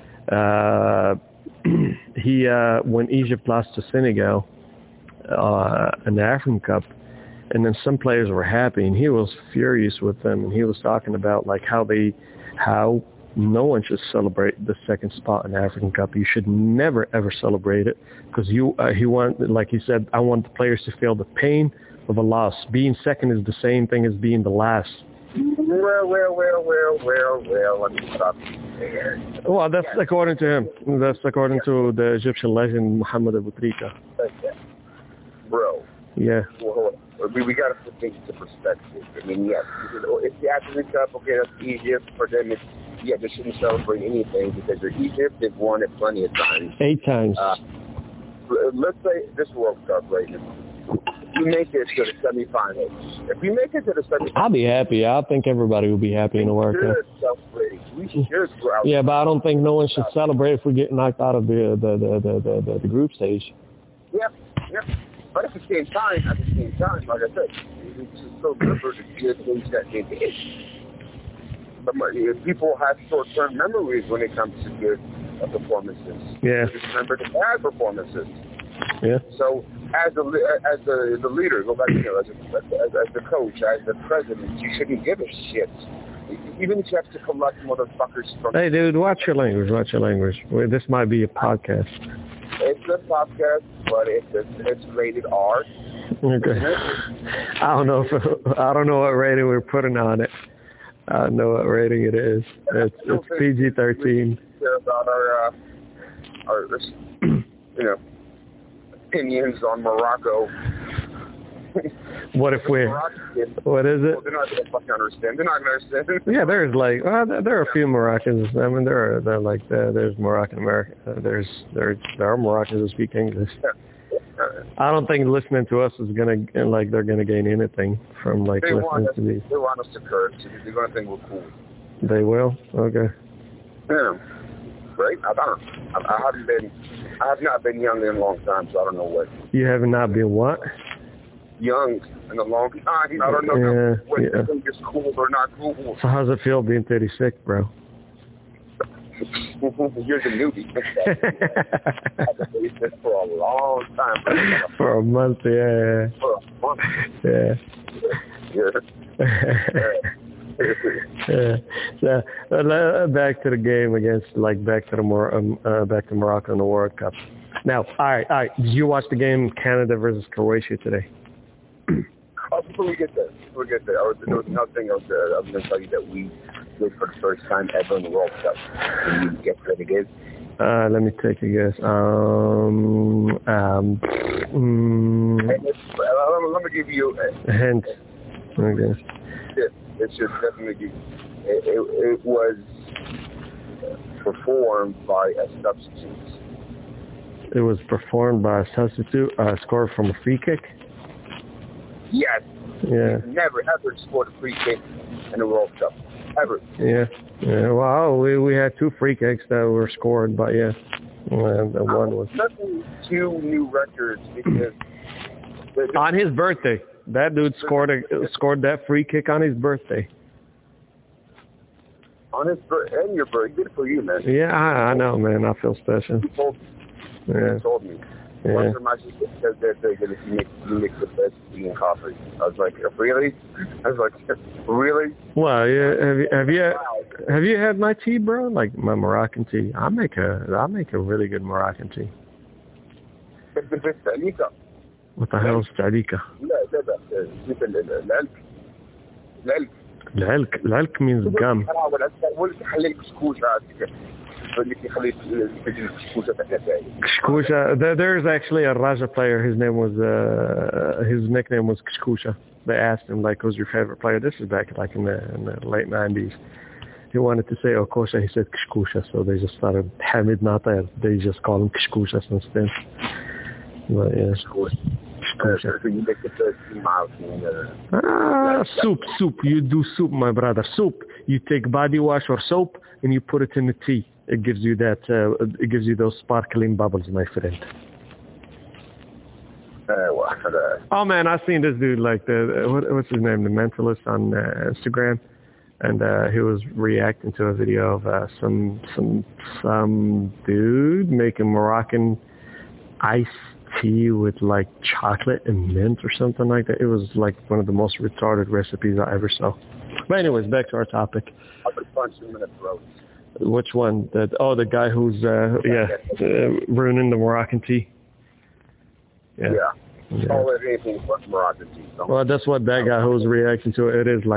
He when Egypt lost to Senegal in the African Cup, and then some players were happy, and he was furious with them, and he was talking about like how no one should celebrate the second spot in the African Cup. You should never ever celebrate it, because like he said, I want the players to feel the pain of a loss. Being second is the same thing as being the last. Well, let me stop there. Well, that's according to him. That's according to the Egyptian legend, Mohamed Bouteflika. Okay. Bro. Yeah. Well, we got to put things into perspective. I mean, yes, it's the African Cup. Okay, that's Egypt. For them, they shouldn't celebrate anything because they're Egypt. They've won it plenty of times. 8 times. Let's say this World Cup right now. We make it to the semifinals. If we make it to the semifinals, I'll be happy. I think everybody will be happy in the World Cup. We should. Yeah, but I don't think no one should celebrate if we get knocked out of the group stage. Yeah. But at the same time, like I said, it's just so good for the good things that they did. But people have short-term memories when it comes to good performances. Yeah. Just remember the bad performances. Yeah. So as the leader, go back to as the coach, as the president, you shouldn't give a shit. Even if you have to collect motherfuckers from... Hey, dude, watch your language. Watch your language. This might be a podcast. It's a podcast, but it's rated R. Okay. I don't know what rating we're putting on it. I don't know what rating it is. It's PG-13. Care about our opinions on Morocco. What is it? Well, they're not going to fucking understand. They're not going to understand. Yeah, there are a few Moroccans. I mean, there's Moroccan American. There are Moroccans who speak English. I don't think listening to us is they're gonna gain anything from listening to these. They want us to curse. They're gonna think we're cool. They will? Okay. Yeah. Right? I have not been young in a long time, so I don't know what. You have not been what? Young in a long time. I don't know what you think is cool or not cool. So how's it feel being 36, bro? You're the newbie. I've been doing this for a long time. Bro. For a month, yeah. For a month. Yeah. Yeah. So back to the game back to Morocco in the World Cup. Now, all right. Did you watch the game Canada versus Croatia today? Before we get there, there was nothing else there. I was going to tell you that we did for the first time ever in the World Cup. Can you guess what it is? Let me take a guess. Let me give you a hint. Okay. It should definitely be. It was performed by a substitute. It was performed by a substitute, scored from a free kick? Yes. Yeah. He's never, ever scored a free kick in the World Cup. Ever. Yeah. Well, we had 2 free kicks that were scored, but yeah. And the one was... Nothing 2 new records because... On his birthday. That dude scored that free kick on his birthday. On his birthday? And your birthday. Good for you, man. Yeah, I know, man. I feel special. You told me. Yeah. Once my sister said that you make the best tea and coffee. I was like, really? Really? Well, yeah. Have you had my tea, bro? Like my Moroccan tea. I make a really good Moroccan tea. What the hell is Tadika? L'alk means gum. Kshkusha. There's actually a Raja player. His nickname was Kshkusha. They asked him who's your favorite player? This is back in the late 90s. He wanted to say Okosha. He said Kshkusha. So they just started Hamid Natar. They just call him Kshkusha since then. But yeah. Soup. You do soup, my brother. Soup. You take body wash or soap and you put it in the tea. It gives you that. It gives you those sparkling bubbles, my friend. Oh man, I've seen this dude what's his name, the Mentalist on Instagram, and he was reacting to a video of some dude making Moroccan iced tea with chocolate and mint or something like that. It was one of the most retarded recipes I ever saw. But anyways, back to our topic. I've been punching him in the throat. Which one? The guy who's ruining the Moroccan tea. Yeah. Oh, anything but Moroccan tea. Well, that's what that guy who was reacting to. It is it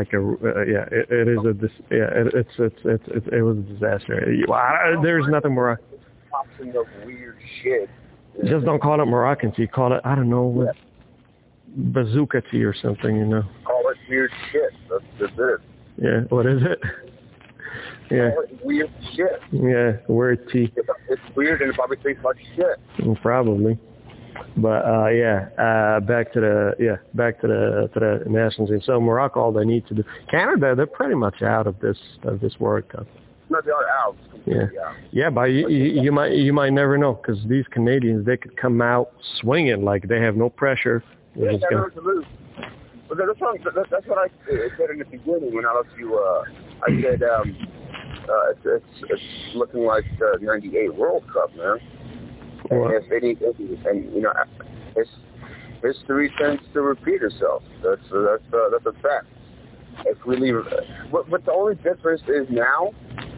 was a disaster. There's nothing Moroccan. Of weird shit. Just don't call it Moroccan tea. Call it, I don't know, bazooka tea or something, Call it weird shit. That's it. Yeah, what is it? Yeah. Call it weird shit. Yeah, weird tea. It's weird and it probably tastes like shit. Probably. But back to the national team. So Morocco, all they need to do. Canada, they're pretty much out of this World Cup. No, they are out. Yeah, but you might never know because these Canadians, they could come out swinging they have no pressure. They have to lose. But that's what I said in the beginning when I left you. I said it's looking like the '98 World Cup, man. History tends to repeat itself. That's a fact. If we leave, but the only difference is now.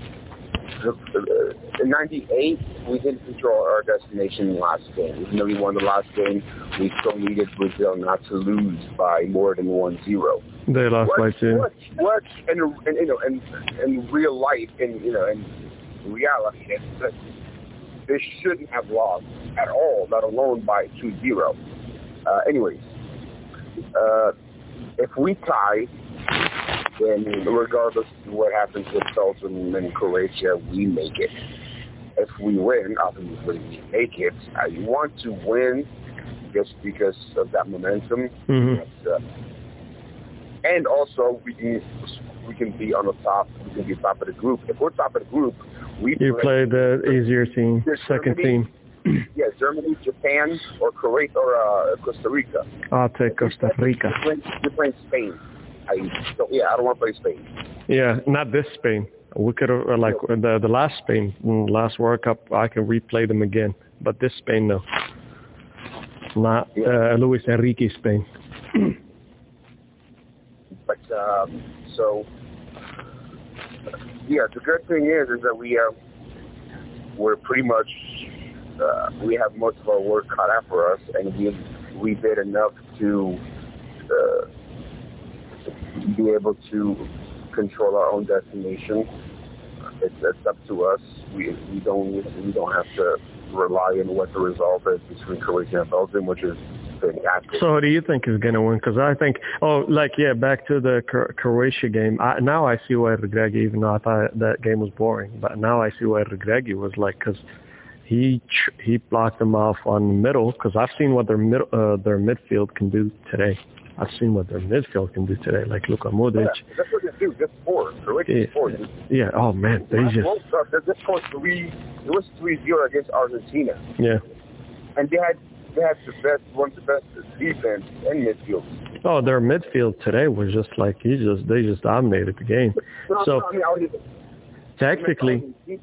In '98, we didn't control our destination in the last game. Even though we won the last game, we still needed Brazil not to lose by more than 1-0. They lost by 2. What in real life, in reality, they shouldn't have lost at all, let alone by 2-0. Anyways, if we tie, then regardless of what happens with Belgium and Croatia, we make it. If we win, obviously we make it. I want to win just because of that momentum. Mm-hmm. And also, we can be on the top. We can be top of the group. If we're top of the group, you play the easier team, second team. Yeah, Germany, Japan, or Kuwait, or Costa Rica. I'll take Costa Rica. You're playing Spain. I don't want to play Spain. Yeah, not this Spain. We could have, the last Spain, last World Cup, I can replay them again. But this Spain, no. Not Luis Enrique Spain. But, the good thing is that we're pretty much, we have most of our work cut out for us, and we did enough to be able to control our own destination. It's up to us. We don't have to rely on what the result is between Croatia and Belgium, which is fantastic. So who do you think is going to win? Because I think, back to the Croatia game. Now I see why Regragui, even though I thought that game was boring, but now I see why Regragui was because he blocked them off on the middle. Because I've seen what their midfield can do today. I've seen what their midfield can do today, like Luka Modric. Yeah, that's what they do. Just four. Yeah. Oh man, they just. It was 3-0 against Argentina. Yeah. And they had one of the best defense and midfield. Oh, their midfield today was just like they just dominated the game. Tactically,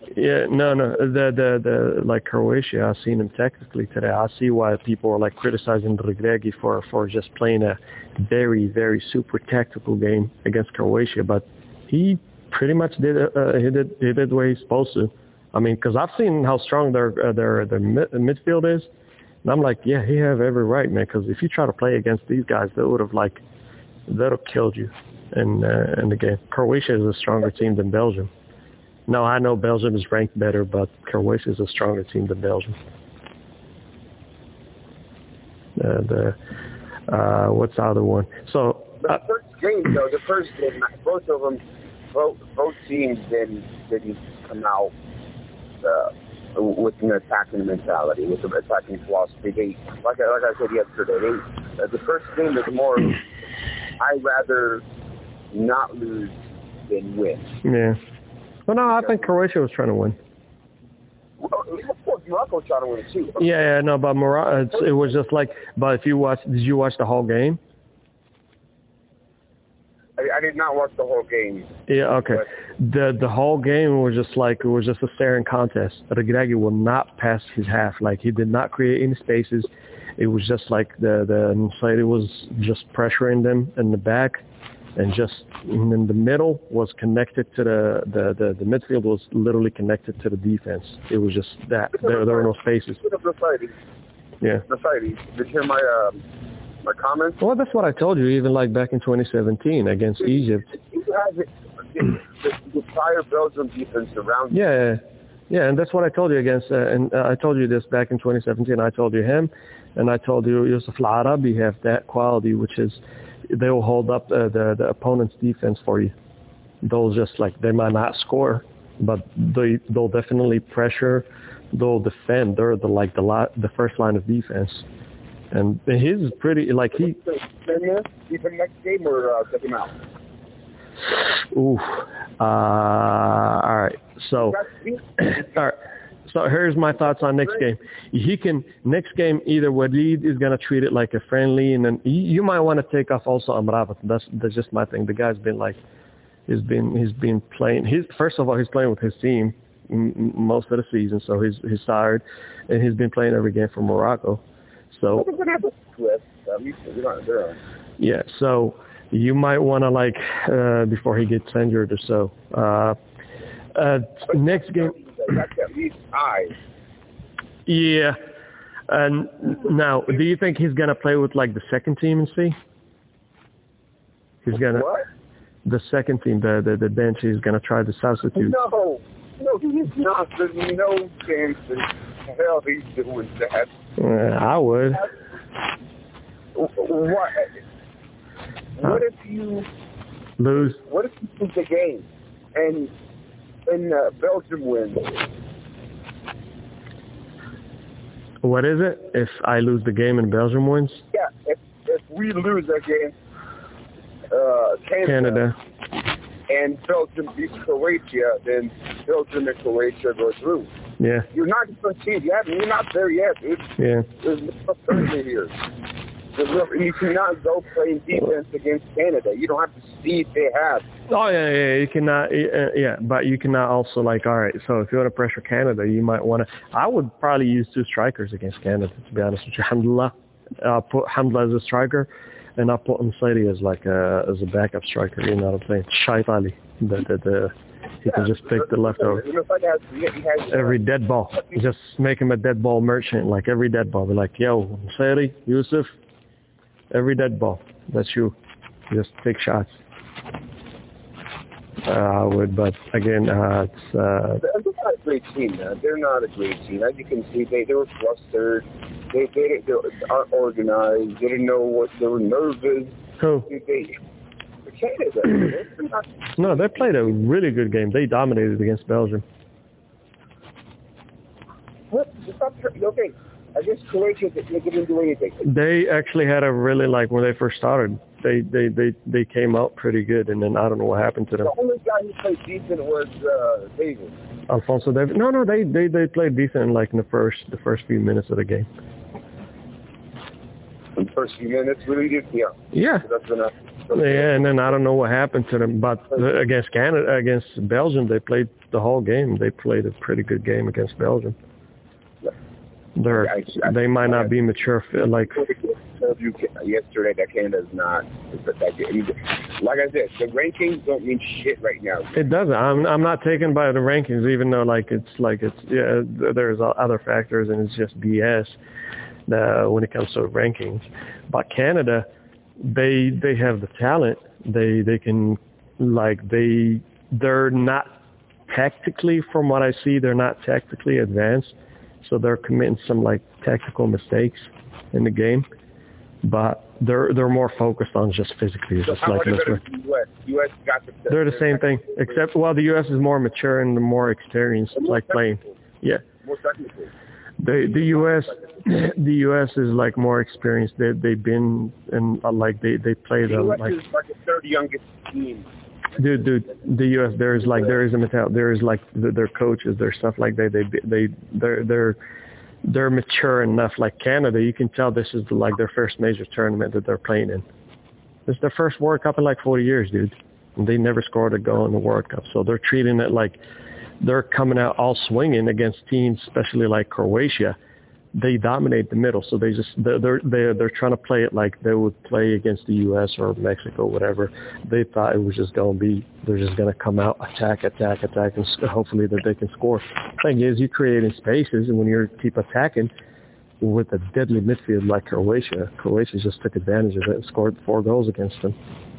the like Croatia, I've seen him tactically today. I see why people are like criticizing Regragui for just playing a very, very super tactical game against Croatia, but he pretty much did what he's supposed to. I mean, because I've seen how strong their midfield is, and I'm like, yeah, he have every right, man. Because if you try to play against these guys, they'd have killed you in the game. Croatia is a stronger team than Belgium. No, I know Belgium is ranked better, but Croatia is a stronger team than Belgium. What's the other one? So the first game, both of them, both teams didn't come out with an attacking mentality, with an attacking philosophy. They, like I said yesterday, the first game is more. I'd rather not lose than win. Yeah. Well, no, I think Croatia was trying to win. Well, of course, Morocco was trying to win too. Yeah, no, but Morocco, it was just like. But did you watch the whole game? I did not watch the whole game. Yeah, okay. The whole game was just a staring contest. Regragui will not pass his half. Like he did not create any spaces. It was just like the Nusayri was just pressuring them in the back. And just in the middle was connected to the midfield was literally connected to the defense. It was just that there were no spaces. Yeah. Did you hear my comments? Well, that's what I told you. Even like back in 2017 against Egypt. The entire Belgium defense around. Yeah, and that's what I told you against. And I told you this back in 2017. I told you him, and I told you Yusuf Al-Arabi have that quality, which is. They will hold up the opponent's defense for you. They'll just they might not score, but they'll definitely pressure. They'll defend. They're the first line of defense. And his is pretty he. Even next game or take him out. Ooh. All right. So. All right. So here's my thoughts on next game. Next game, either Walid is going to treat it like a friendly, and then you might want to take off also Amrabat. That's just my thing. The guy's been he's been playing. First of all, he's playing with his team, most of the season, so he's tired, and he's been playing every game for Morocco. So yeah, so you might want to like before he gets injured or so. Next game. Yeah. And now, do you think he's gonna play with like the second team and see? He's gonna the second team, the bench. He's gonna try the substitute. No, he's not. There's no chance in hell he's doing that. I would. What if you lose? What if you lose the game and Belgium wins? What is it? If I lose the game and Belgium wins? Yeah, if we lose against Canada and Belgium beats Croatia, then Belgium and Croatia go through. Yeah. You're not guaranteed yet. You're not there yet, dude. Yeah. There's no certainty here. You cannot go playing defense against Canada. You don't have to see if they have. Oh, yeah, you cannot, but you cannot also, like, all right, so if you want to pressure Canada, you might want to, I would probably use 2 strikers against Canada, to be honest with you. Hamdullah, I'll put Hamdullah as a striker, and I'll put Msaidi as like as a backup striker, you know what I'm saying? Shaif Ali, he can just pick the leftover. Every dead ball, just make him a dead ball merchant, like every dead ball. Be like, yo, Msaidi, Yusuf, every dead ball, that's you. Just take shots. I would, but again, it's... They're not a great team, man. They're not a great team. As you can see, they were flustered. They aren't organized. They didn't know what... They were nervous. Who? Canada. No, they played a really good game. They dominated against Belgium. What? Okay. Against Croatia, they didn't do anything. They actually had a really, like, when they first started, they came out pretty good, and then I don't know what happened to them. The only guy who played decent was David. Alphonso Davies. No, they played decent, like, in the first few minutes of the game. In the first few minutes, really did, yeah. Yeah. Yeah, and then I don't know what happened to them, but against Belgium, they played the whole game. They played a pretty good game against Belgium. They might not be mature. Like I told you yesterday, that Canada's not. Like I said, the rankings don't mean shit right now. It doesn't. I'm not taken by the rankings, even though there's other factors, and it's just BS when it comes to rankings. But Canada, they have the talent. They can, like, they're not tactically, from what I see, they're not tactically advanced. So they're committing some, like, tactical mistakes in the game, but they're more focused on just physically. So just like this way. US got they're the same thing, except the US is more mature and more experienced, like playing. Yeah. More technical. The US is like more experienced. They've been and like they play them like the third youngest team. Dude, the U.S. there is a mentality. There is like their coaches, their stuff like they're mature enough. Like Canada, you can tell this is like their first major tournament that they're playing in. This is their first World Cup in like 40 years, dude. And they never scored a goal in the World Cup, so they're treating it like they're coming out all swinging against teams, especially like Croatia. They dominate the middle, so they're trying to play it like they would play against the U.S. or Mexico, whatever. They thought it was just going to be, they're just going to come out, attack, and hopefully that they can score. Thing is, you creating spaces, and when you keep attacking with a deadly midfield like Croatia just took advantage of it and scored 4 goals against them.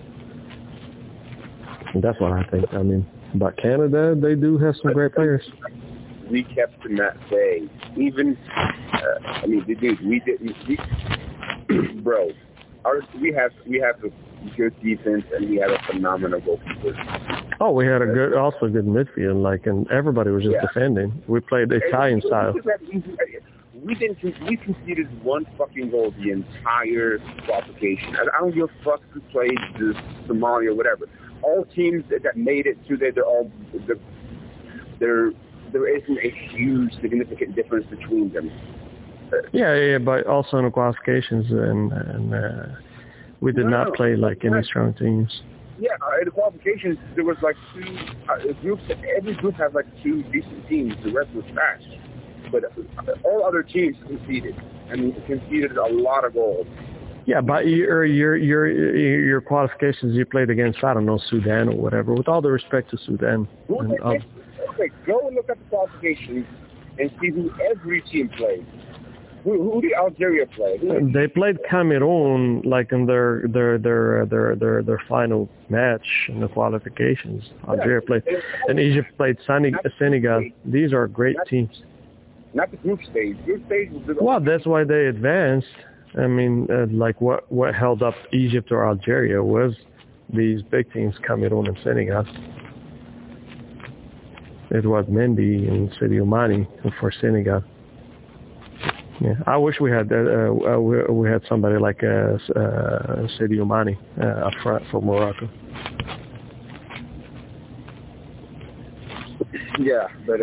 And that's what I think. I mean, but Canada, they do have some great players. We kept them at bay. Even, dude, we didn't. Bro, we have a good defense and we have a phenomenal goalkeeper. Oh, we had a good midfield, like, and everybody was just defending. We played Italian style. We conceded 1 fucking goal the entire qualification. I don't give a fuck who played Somalia or whatever. All teams that made it to there isn't a huge significant difference between them. Yeah, but also in the qualifications, and we did not play like any strong teams. Yeah, in the qualifications, there was like two groups. Every group had like two decent teams. The rest was trash. But all other teams conceded, and conceded a lot of goals. Yeah, but your qualifications, you played against, I don't know, Sudan or whatever. With all the respect to Sudan. Okay, go and look at the qualifications and see who every team played. Who did Algeria play? They played Cameroon like in their final match in the qualifications. Algeria played, and Egypt played Senegal. These are great teams. Not the group stage. Group stage was well, that's why they advanced. I mean, like what held up Egypt or Algeria was these big teams, Cameroon and Senegal. It was Mendy and Sadio Mane for Senegal. Yeah, I wish we had somebody like Sadio Mane up front for Morocco. Yeah, but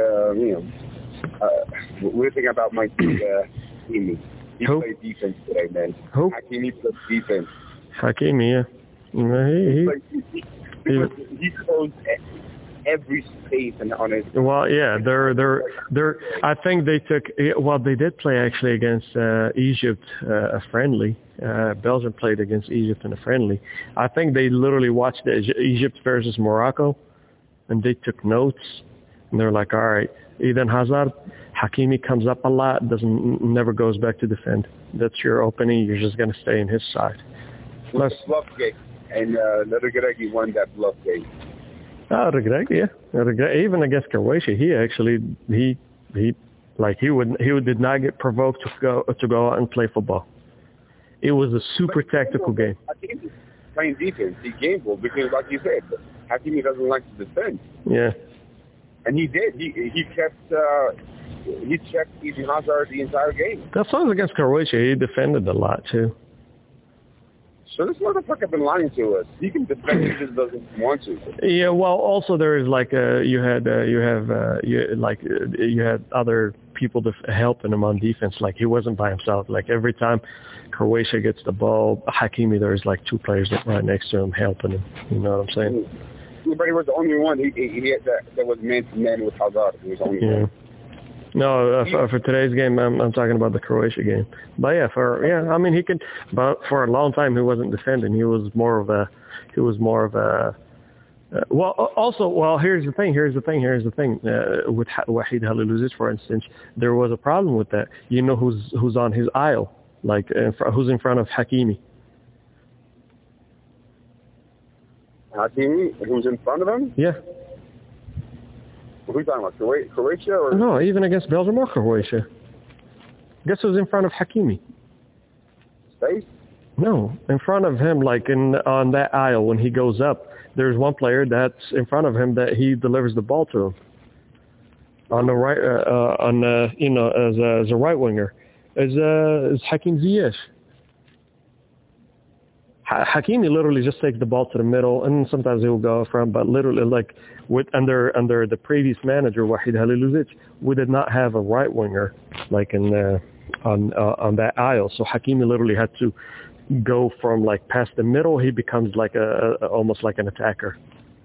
we're thinking about my team. He played defense today, man. Who? Hakimi played defense. Hakimi, yeah. He closed every space on his. Well, yeah, they're. I think they took. Well, they did play actually against Egypt, a friendly. Belgium played against Egypt in a friendly. I think they literally watched Egypt versus Morocco, and they took notes. And they're like, all right, Eden Hazard, Hakimi comes up a lot, never goes back to defend. That's your opening. You're just going to stay in his side. Plus, bluff game, and Regragui won that bluff game. Regragui, yeah. Even against Croatia, he did not get provoked to go out and play football. It was a super tactical game. Hakimi playing defense, he gambled because, like you said, Hakimi doesn't like to defend. Yeah. And he did. He checked Eden Hazard the entire game. That's why against Croatia, he defended a lot too. So this motherfucker been lying to us. He can defend, he just doesn't want to. Yeah, well, also there is like you had other people helping him on defense. Like he wasn't by himself. Like every time Croatia gets the ball, Hakimi, there's like two players right next to him helping him. You know what I'm saying? But he was the only one. He had that was man to man with Hazard. He was the only one. No, for today's game, I'm talking about the Croatia game. But I mean, he could. But for a long time, he wasn't defending. He was more of a. Well, here's the thing. With Wahid Halilhodžić, for instance, there was a problem with that. You know who's on his aisle, like who's in front of Hakimi. Hakimi, who's in front of him? Yeah. Who are you talking about, Croatia? Or? No, even against Belgium or Croatia. Guess who's in front of Hakimi? Space? No, in front of him, like on that aisle when he goes up, there's one player that's in front of him that he delivers the ball to him. On the right, as a right winger, is Hakim Ziyech. Hakimi literally just takes the ball to the middle, and sometimes he will go from. But literally, like under the previous manager Wahid Halilhodžić, we did not have a right winger like on that aisle. So Hakimi literally had to go from like past the middle. He becomes like almost like an attacker.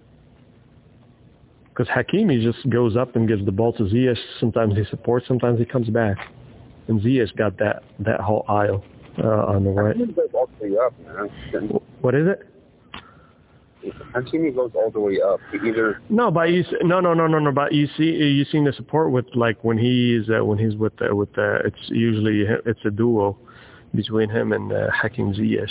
Because Hakimi just goes up and gives the ball to Ziyech. Sometimes he supports, sometimes he comes back, and Ziyech got that whole aisle. On the right. Hakimi goes all the way up, man. What is it? Hakimi goes all the way up. No, but no. But you seen the support with like when he's with it's usually it's a duo between him and Hakim Ziyech.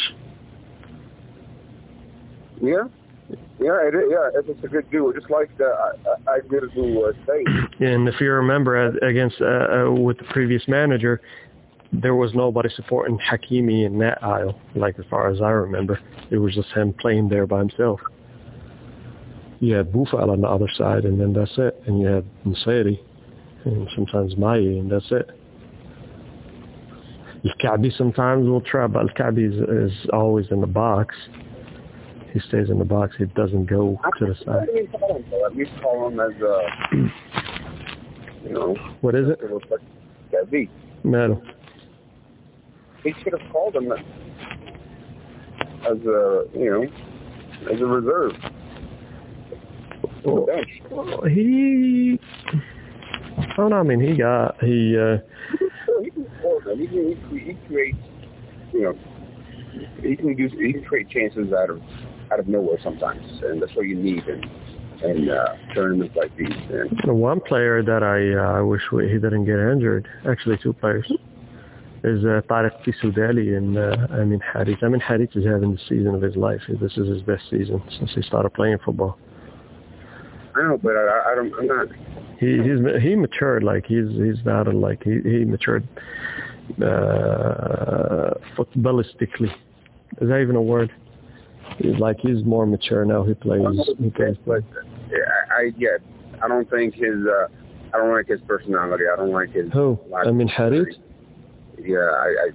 Yeah. It's a good duo, just like I did a duo Spain. And if you remember, against with the previous manager, there was nobody supporting Hakimi in that aisle, like as far as I remember. It was just him playing there by himself. You had Boufal on the other side, and then that's it. And you had Mseri, and sometimes Maye, and that's it. Al-Ka'bi sometimes will try, but Al-Ka'bi is always in the box. He stays in the box. He doesn't go to the side. At least call him as What is it? Ka'bi. No. He should have called him as as a reserve. Well, he creates, he can create chances out of nowhere sometimes, and that's what you need in tournaments like these. The one player that I wish he didn't get injured, actually two players, is Tariq Tissoudali and Amin Harit. Amin Harit is having the season of his life. This is his best season since he started playing football. I know, but I'm not. He matured, like he's not like he matured footballistically. Is that even a word? He's more mature now. He plays. But I don't think I don't like his personality. I don't like his. Who? Amin Harit? Yeah,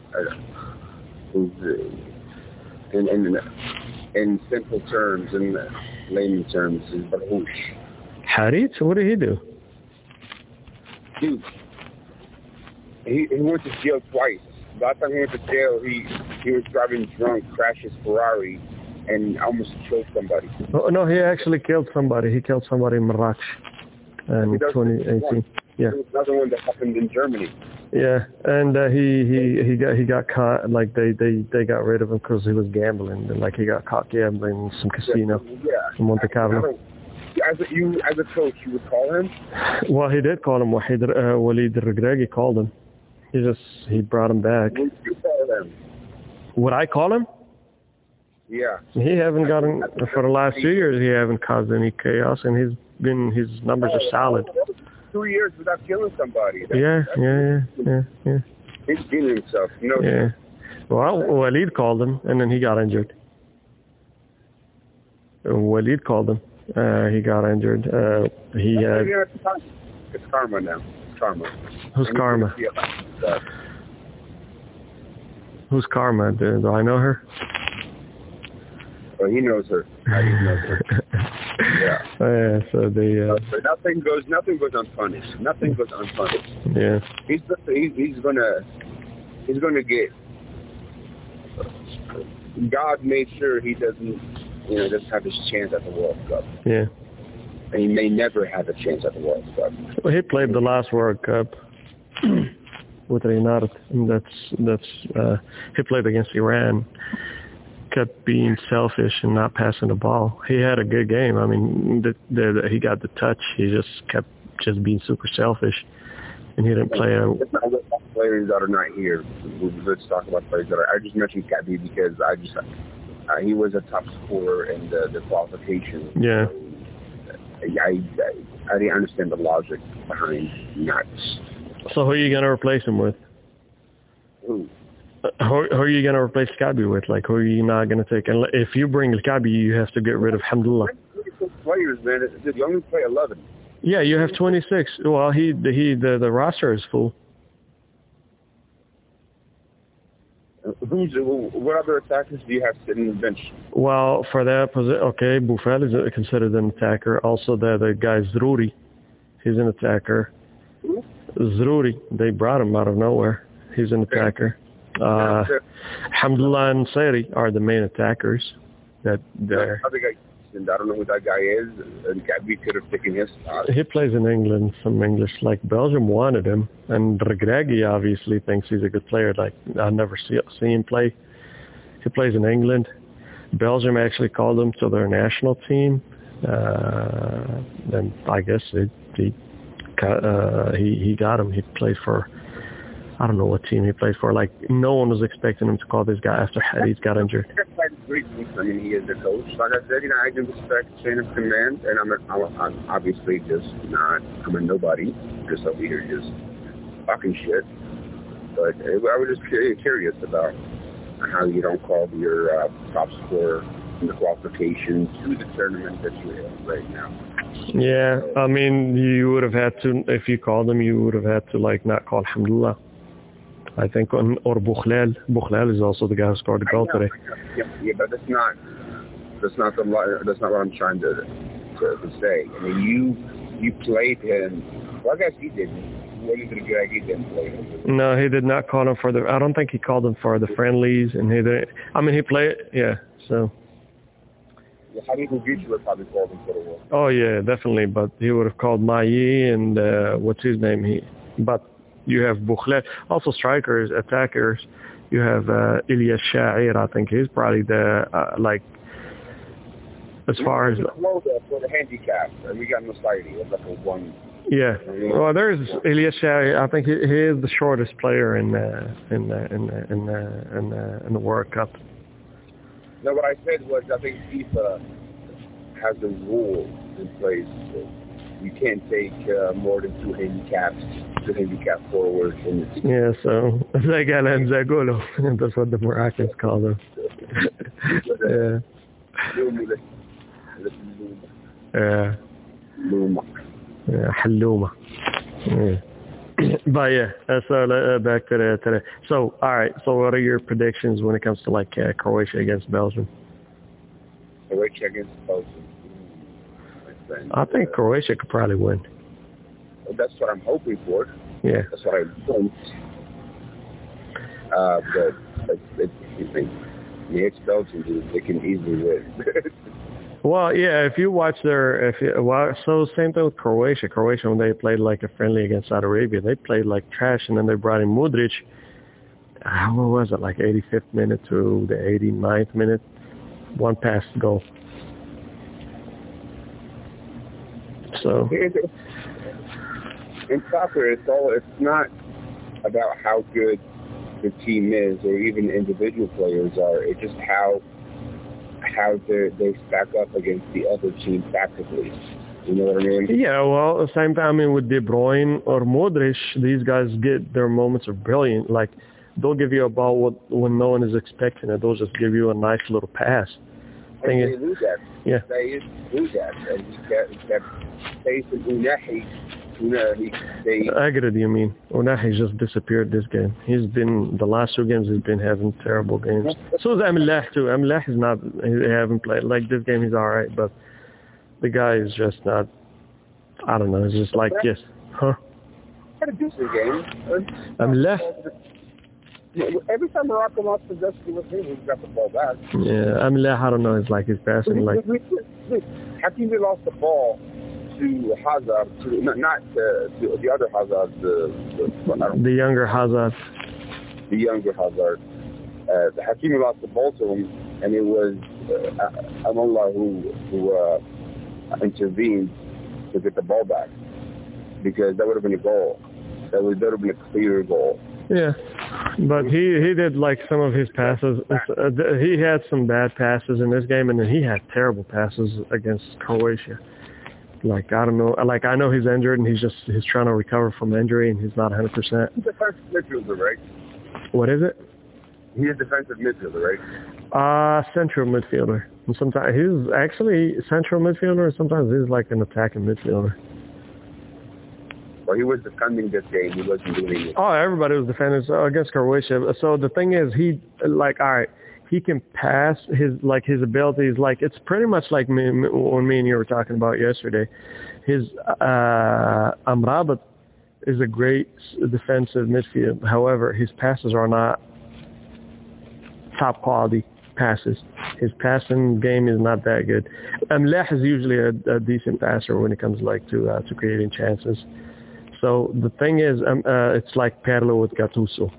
in simple terms, in layman terms, is barhoush. Harit? What did he do? Dude, he went to jail twice. Last time he went to jail, he was driving drunk, crashed his Ferrari, and almost killed somebody. Oh, no, he actually killed somebody. He killed somebody in Marrakech in 2018. Yeah. There was another one that happened in Germany. Yeah, and he got caught. Like they got rid of him because he was gambling. And, like he got caught gambling in some casino in Monte Carlo. As a coach, you would call him? Well, he did call him. Walid al-Regragui called him. He brought him back. Would you call him? Would I call him? Yeah. He haven't gotten for the last 2 years. He haven't caused any chaos, and his numbers are solid. 2 years without killing somebody. Yeah. He's killing himself. No. Yeah. Well, Walid called him, and then he got injured. Walid called him. He got injured. It's Karma now. Karma. Who's Karma? Who's Karma? Do I know her? Well, he knows her. He knows her. Yeah. So nothing goes unpunished. Nothing goes unpunished. Yeah. He's gonna get. God made sure he doesn't have his chance at the World Cup. Yeah. And he may never have a chance at the World Cup. Well, he played the last World Cup with Reynard, and that's he played against Iran. Kept being selfish and not passing the ball. He had a good game. I mean, he got the touch. He just kept being super selfish, and he didn't play. Let's not talk about players that are not here. Let's talk about players that are. I just mentioned Kabi because he was a top scorer in the qualification. Yeah. I didn't understand the logic behind not. So who are you gonna replace him with? Who? Who are you going to replace Kabi with? Like, who are you not going to take? And if you bring Kabi, you have to get rid of Hamdullah. Players, man. You only play 11. Yeah, you have 26. Well, the roster is full. What other attackers do you have sitting on the bench? Well, for that position, okay, Boufal is considered an attacker. Also, the guy Zrouri, he's an attacker. Who? Zrouri, they brought him out of nowhere. He's an attacker. Hamdullah and Sairi are the main attackers. I don't know who that guy is, and we could have taken his spot. He plays in England, some English. Like Belgium wanted him, and Regragui obviously thinks he's a good player. Like I never see him play. He plays in England. Belgium actually called him to their national team, and I guess he got him. He played for. I don't know what team he played for. Like, no one was expecting him to call this guy after Hadid got injured. I mean, he is the coach. Like I said, I do respect chain of command, and I'm obviously just not. I'm a nobody, just over here, just talking shit. But I was just curious about how you don't call your top scorer in the qualification to the tournament that you're in right now. Yeah, I mean, you would have had to, if you called him, you would have had to, like, not call Alhamdulillah. I think, or Boukhlal. Boukhlal is also the guy who scored the goal today. Yeah, but that's not what I'm trying to say. I mean, you played him. Well, I guess he didn't. He didn't play him. No, he did not call him for I don't think he called him for the friendlies, and he didn't. I mean, he played. Yeah, so. Habib Bourguiba would probably call him for the war. Oh yeah, definitely. But he would have called Mayi and what's his name? But you have Boukhlet. Also strikers, attackers. You have Ilyas Sha'ir. I think he's probably the as far as for the handicap. We got Mustaidi. It's like a one. Yeah. Well, there's Ilyas Sha'ir. I think he is the shortest player in the World Cup. No, what I said was I think FIFA has a rule in place. So you can't take more than two handicap forwards. Yeah, so they got Nzagolo. That's what the Moroccans call them. Yeah. Yeah. Yeah, Hallouma. Yeah. But yeah, so back to the. So all right. So what are your predictions when it comes to Croatia against Belgium? Croatia against Belgium. I think Croatia could probably win. Well, that's what I'm hoping for. Yeah. That's what I want. But the ex-Belgians, they can easily win. Well, yeah, if you watch so same thing with Croatia. Croatia, when they played like a friendly against Saudi Arabia, they played like trash, and then they brought in Modric. What was it, like 85th minute to the 89th minute? One pass goal. So in soccer, it's not about how good the team is or even individual players are. It's just how they stack up against the other team tactically. You know what I mean? Yeah, well, at the same time, with De Bruyne or Modric, these guys get their moments of brilliant. Like, they'll give you a ball when no one is expecting it. They'll just give you a nice little pass. And they lose that. Yeah. They lose that. And he kept facing Unahi. Agred, you mean? Unahi just disappeared this game. The last two games he's been having terrible games. So is Amlah too. Amlah is not, he haven't played. Like this game he's alright, but the guy is just not, I don't know, it's just like, yes. Huh? Had a decent game. Amlah? Every time Morocco lost possession with him, we got the ball back. Yeah, Amlah, I don't know, it's like his passing like... Hakimi lost the ball to Hazard, not the other Hazard, the younger Hazard. The younger Hazard. Hakimi lost the ball to him, and it was Amallah who intervened to get the ball back, because that would have been a goal. That would have been a clear goal. Yeah, but he did like some of his passes. He had some bad passes in this game, and then he had terrible passes against Croatia. Like, I don't know. Like, I know he's injured, and he's trying to recover from injury, and he's not 100%. He's a defensive midfielder, right? What is it? He's a defensive midfielder, right? Central midfielder. And sometimes he's actually central midfielder, and sometimes he's like an attacking midfielder. Well, he was defending this game. He wasn't doing it. Oh, everybody was defending against Croatia. So the thing is, he can pass. His abilities, like, it's pretty much like me and you were talking about yesterday. His Amrabat is a great defensive midfield. However, his passes are not top quality passes. His passing game is not that good. Amlah is usually a decent passer when it comes to creating chances. So the thing is, it's like Pirlo with Gattuso.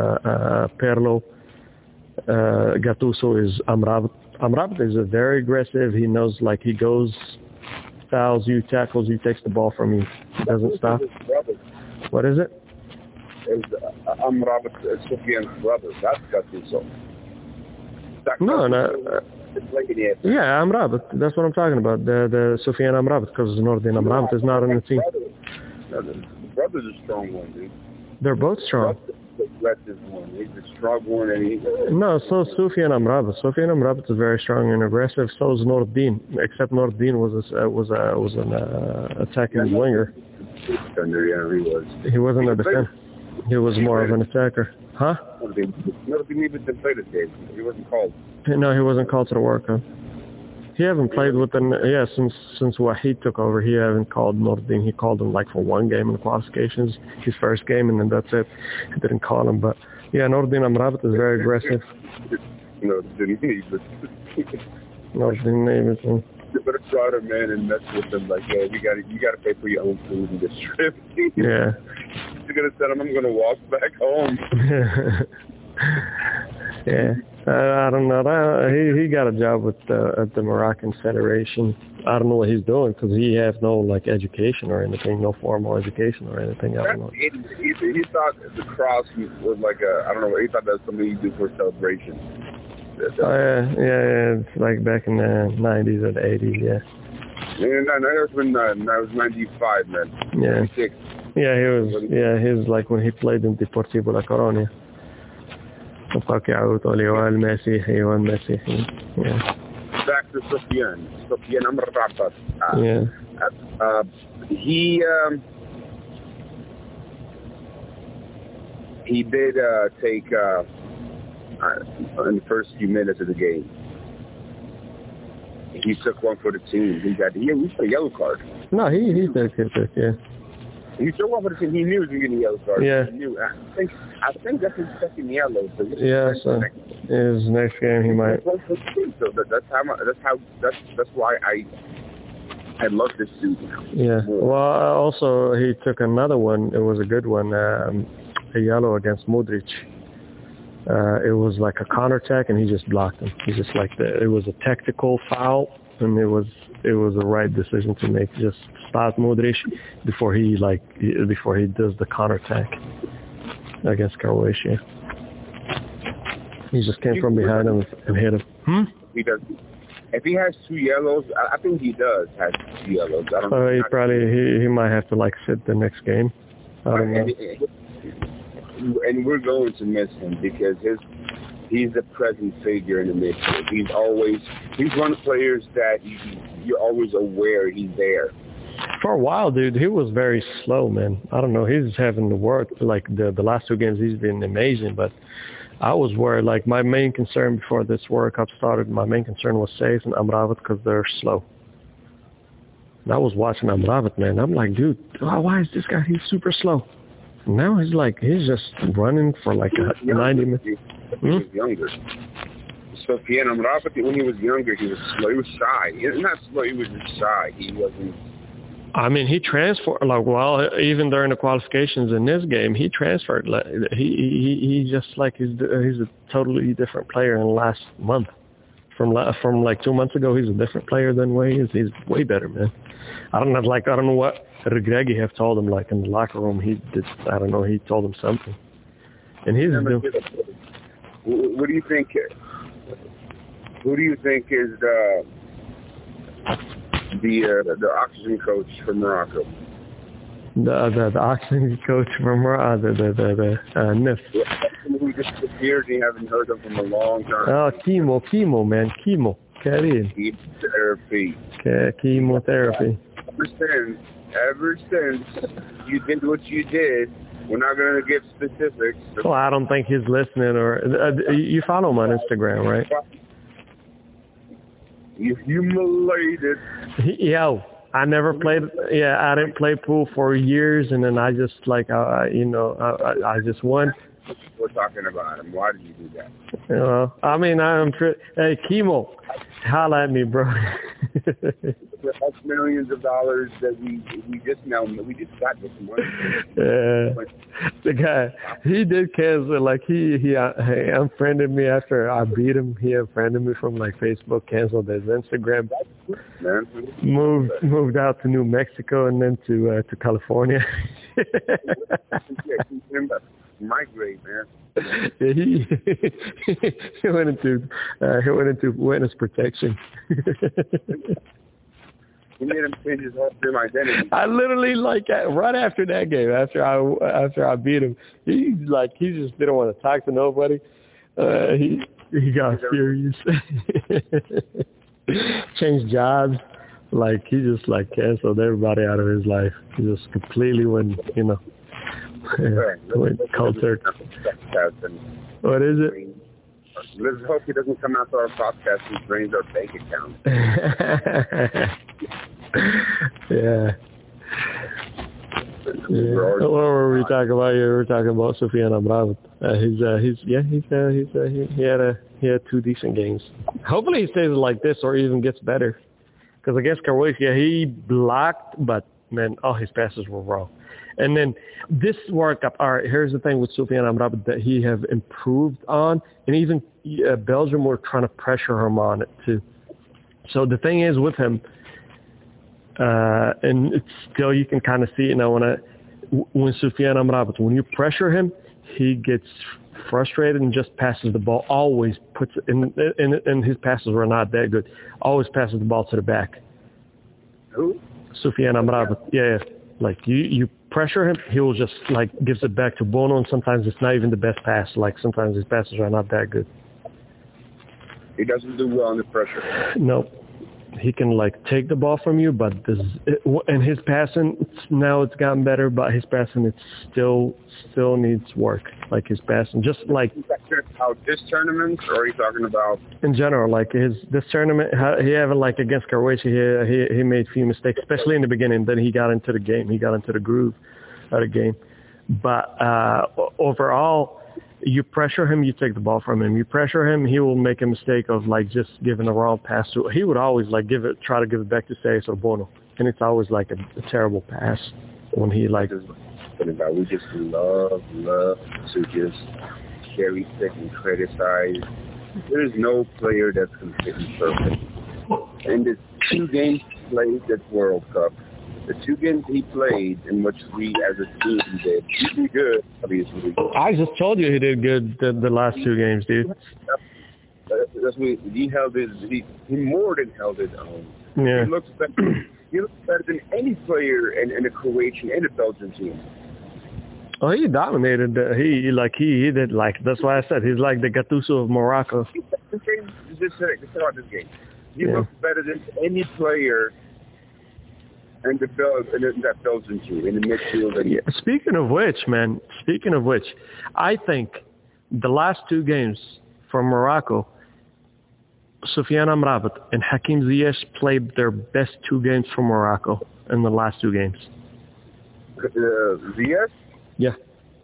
Gattuso is Amrabat. Amrabat is very aggressive. He knows, like, he goes, fouls you, tackles you, takes the ball from you. He doesn't stop. What is it? It's Amrabat, Soufiane's brother. That's Gattuso. No. Yeah, Amrabat. That's what I'm talking about. The Soufiane Amrabat, because Nordin Amrabat is not on the team. The brother's a strong one, dude. They're both strong. The aggressive one. He's a strong one, and No, so Soufiane Amrabat. Soufiane Amrabat is very strong and aggressive. So is Nordin, except Nordin was an attacking winger. He wasn't a defender. He was more of an attacker. Huh? Nordin even played this game. He wasn't called. No, he wasn't called to the World Cup. He haven't played with them, since Wahid took over. He haven't called Nordin. He called him like for one game in the qualifications, his first game, and then that's it. He didn't call him. But yeah, Nordin Amrabat is very aggressive. No, his name is. You better try to man and mess with them. Like, yo, you gotta pay for your own food and this trip. Yeah. You're gonna tell him I'm gonna walk back home. Yeah. I don't know. He got a job with at the Moroccan Federation. I don't know what he's doing because he has no like education or anything, no formal education or anything. I don't know. He thought the cross was like I don't know. He thought that was something you do for a celebration. Yeah. It's like back in the 90s or the 80s. Yeah. Yeah, no, that was 95, man. Yeah. 96. Yeah, he was like when he played in Deportivo La Coruña. Back to Sofiane Amrabat. Yeah. He did take in the first few minutes of the game. He took one for the team. He got a yellow card. No, he took yeah. He took one for the team. He knew he was getting a yellow card. Yeah. He knew. I think that's his second yellow. So yeah. So his next game he might. So that's why I love this suit now. Yeah. Well, also he took another one. It was a good one. A yellow against Modric. It was like a counterattack, and he just blocked him. He just like it was a tactical foul, and it was the right decision to make. Just stop Modric before he does the counterattack against Croatia. He just came from behind him and hit him. He does. If he has two yellows, I think he does have two yellows. I don't know. He might have to like sit the next game. I don't know. And we're going to miss him because he's a present figure in the midfield. He's one of the players that you're always aware he's there. For a while, dude, he was very slow, man. I don't know. He's having to work. Like the last two games, he's been amazing. But I was worried. Like my main concern before this World Cup started, my main concern was Seyss and Amrabat because they're slow. And I was watching Amrabat, man. I'm like, dude, why is this guy? He's super slow. Now he's just running for like 90 minutes. He was younger. Sofiane Amrabat, when he was younger, he was slow. He was shy. He was not slow. He was just shy. He wasn't. I mean, he transferred even during the qualifications in this game, he transferred. He just like he's a totally different player in the last month. From like 2 months ago, he's a different player than what he is. He's way better, man. I don't know what Regragui have told him, like in the locker room. He told him something. And he's what do you think? Who do you think is the oxygen coach for Morocco? The oxygen coach from Morocco, the NIF. Who just disappeared and you haven't heard of him in a long time. Oh, chemo, man, chemo. Chemotherapy. Chemotherapy. Ever since you did what you did, we're not going to give specifics. Well, I don't think he's listening. Or you follow him on Instagram, right? You humiliated. I never played. Yeah, I didn't play pool for years, and then I just I just won. We're talking about him. Why did you do that? I mean, hey, Chemo, holla at me, bro. That's millions of dollars that we just got this money. The guy, he did cancel. Like he unfriended me after I beat him. He unfriended me from like Facebook, canceled his Instagram, moved out to New Mexico and then to California. Migrate, man. Yeah, he went into witness protection. He made him change his whole identity. I literally right after that game, after I beat him, he just didn't want to talk to nobody. He got furious. Changed jobs. Like he just canceled everybody out of his life. He just completely went, went cultured. What is it? Let's hope he doesn't come out to our podcast and drains our bank account. Yeah. What were we talking about? We were talking about Sufyan Amrabat. He had 2 decent games. Hopefully he stays like this or even gets better. Because against Croatia, he blocked, but man, all his passes were wrong. And then this World Cup, all right, here's the thing with Sufyan Amrabat that he have improved on, and even Belgium were trying to pressure him on it too. So the thing is with him, and it's still you can kind of see it now when Sufyan Amrabat, when you pressure him, he gets frustrated and just passes the ball. Always puts it and his passes were not that good. Always passes the ball to the back. Who? Sufyan Amrabat. Yeah. Like you pressure him, he will just like gives it back to Bono, and sometimes it's not even the best pass. Like sometimes his passes are not that good. He doesn't do well under pressure. No. He can like take the ball from you, but and his passing now it's gotten better, but his passing it still needs work. Like his passing, just like how this tournament, or are you talking about in general? Like this tournament, he haven't like against Croatia. He made a few mistakes, especially in the beginning. Then he got into the game. He got into the groove of the game. But overall, you pressure him, you take the ball from him. You pressure him, he will make a mistake of like just giving the wrong pass to. He would always like try to give it back to Seis or Bono, and it's always like a terrible pass when he like. We just love to just cherry pick and criticize. There's no player that's completely perfect. And the 2 games played this World Cup, the 2 games he played in which we as a team did good, obviously. I just told you he did good the last 2 games, dude. He held he more than held his own. Yeah. He looks better than any player in the Croatian and the Belgian team. Oh, he dominated. He did like. That's why I said he's like the Gattuso of Morocco. Just about this game. He looks better than any player in that Belgian team in the midfield. Yeah. Speaking of which, I think the last 2 games for Morocco, Sufyan Amrabat and Hakim Ziyech played their best 2 games for Morocco in the last 2 games. Ziyech? Yeah.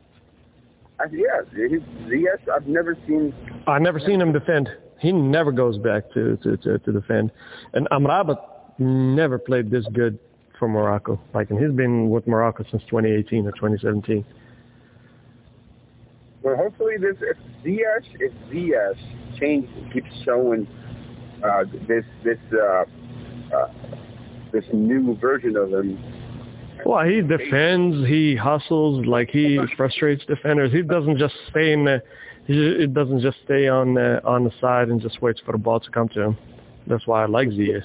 Ziyech, I've never seen him defend. He never goes back to defend. And Amrabat never played this good for Morocco. Like, and he's been with Morocco since 2018 or 2017. Well, hopefully if Ziyech keeps showing this new version of him. Well, he defends, he hustles, like he frustrates defenders. He doesn't just stay it doesn't just stay on the side and just waits for the ball to come to him. That's why I like Ziyech.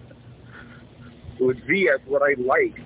With Ziyech, what I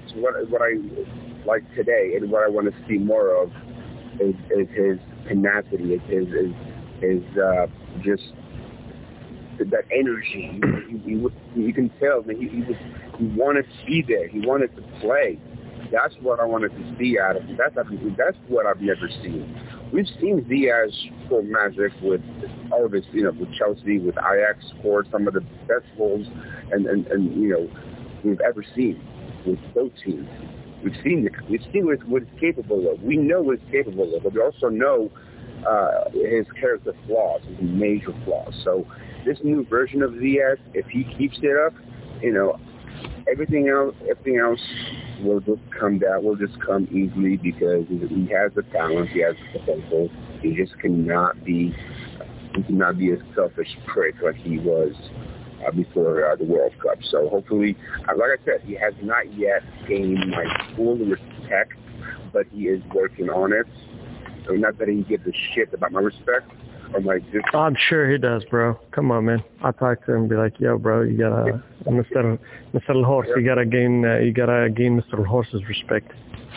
like today, and what I want to see more of, is his tenacity, is just that energy. You can tell that he wanted to be there. He wanted to play. That's what I wanted to see out of him. That's what I've never seen. We've seen Ziyech score magic with all of his, with Chelsea, with Ajax, scored some of the best goals and we've ever seen with both teams. We've seen what he's capable of. We know what he's capable of, but we also know his character flaws, his major flaws. So this new version of Ziyech, if he keeps it up, everything else will just come down. Will just come easily because he has the talent, he has the potential. He just cannot be a selfish prick like he was before the World Cup. So hopefully, like I said, he has not yet gained my full respect, but he is working on it. So not that he gives a shit about my respect. I'm sure he does, bro. Come on, man. I talk to him and be like, yo, bro, you gotta, Mr. Horse, you gotta gain Mr. Horse's respect.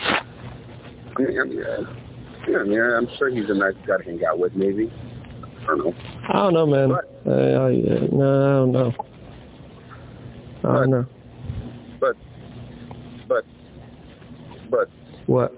Yeah, I'm sure he's a nice guy to hang out with, maybe. I don't know, man. No, I don't know. But. What?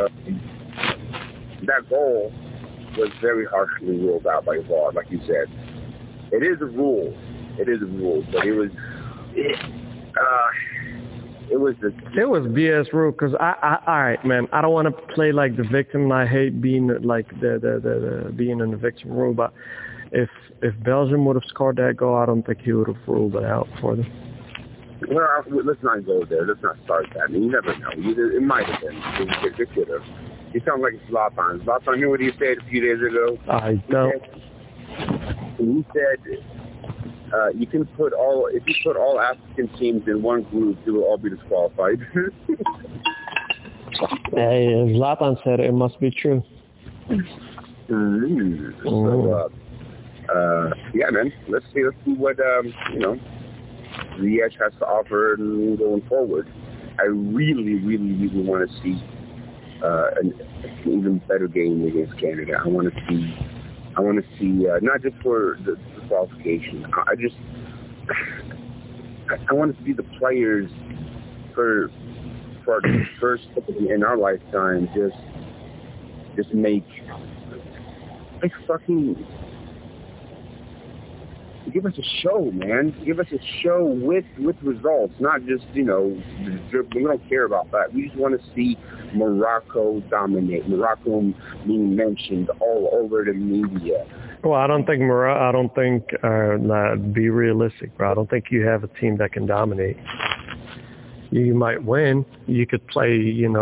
That goal was very harshly ruled out by VAR, like you said. It is a rule, but it was. It was BS rule because all right, man. I don't want to play like the victim, and I hate being like the being in the victim rule. But if Belgium would have scored that goal, I don't think he would have ruled it out for them. Well, let's not go there. Let's not start that. I mean, you never know. It might have been. It could have. You sound like Zlatan. Zlatan knew what he said a few days ago. I don't. He said, if you put all African teams in one group, they will all be disqualified. Hey, Zlatan said it must be true. So, yeah, man. Let's see what Ziyech has to offer going forward. I really, really, really want to see an even better game against Canada. I want to see not just for the qualification. I want to see the players for our first in our lifetime just make fucking. Give us a show, man. Give us a show with results, not just, we don't care about that. We just want to see Morocco dominate. Morocco being mentioned all over the media. Well, I don't think be realistic, bro. I don't think you have a team that can dominate. You might win. You could play,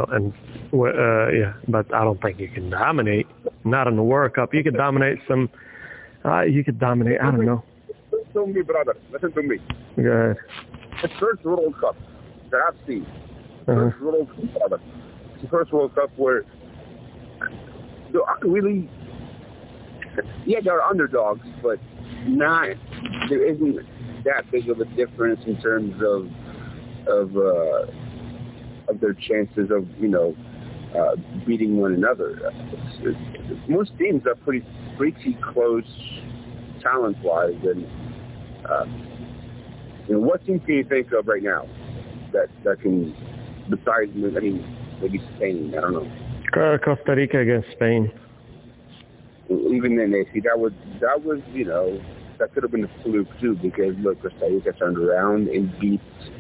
but I don't think you can dominate. Not in the World Cup. You could dominate some. You could dominate. I don't know. Listen to me, brother. Listen to me. Go ahead. The first World Cup that I've seen. First World Cup, brother. It's the first World Cup where really, there are underdogs, but there isn't that big of a difference in terms of their chances of beating one another. Most teams are pretty close talent-wise, and what team can you think of right now that can, besides maybe Spain? I don't know. Costa Rica against Spain. Even then, that could have been a fluke too, because look, Costa Rica turned around and beat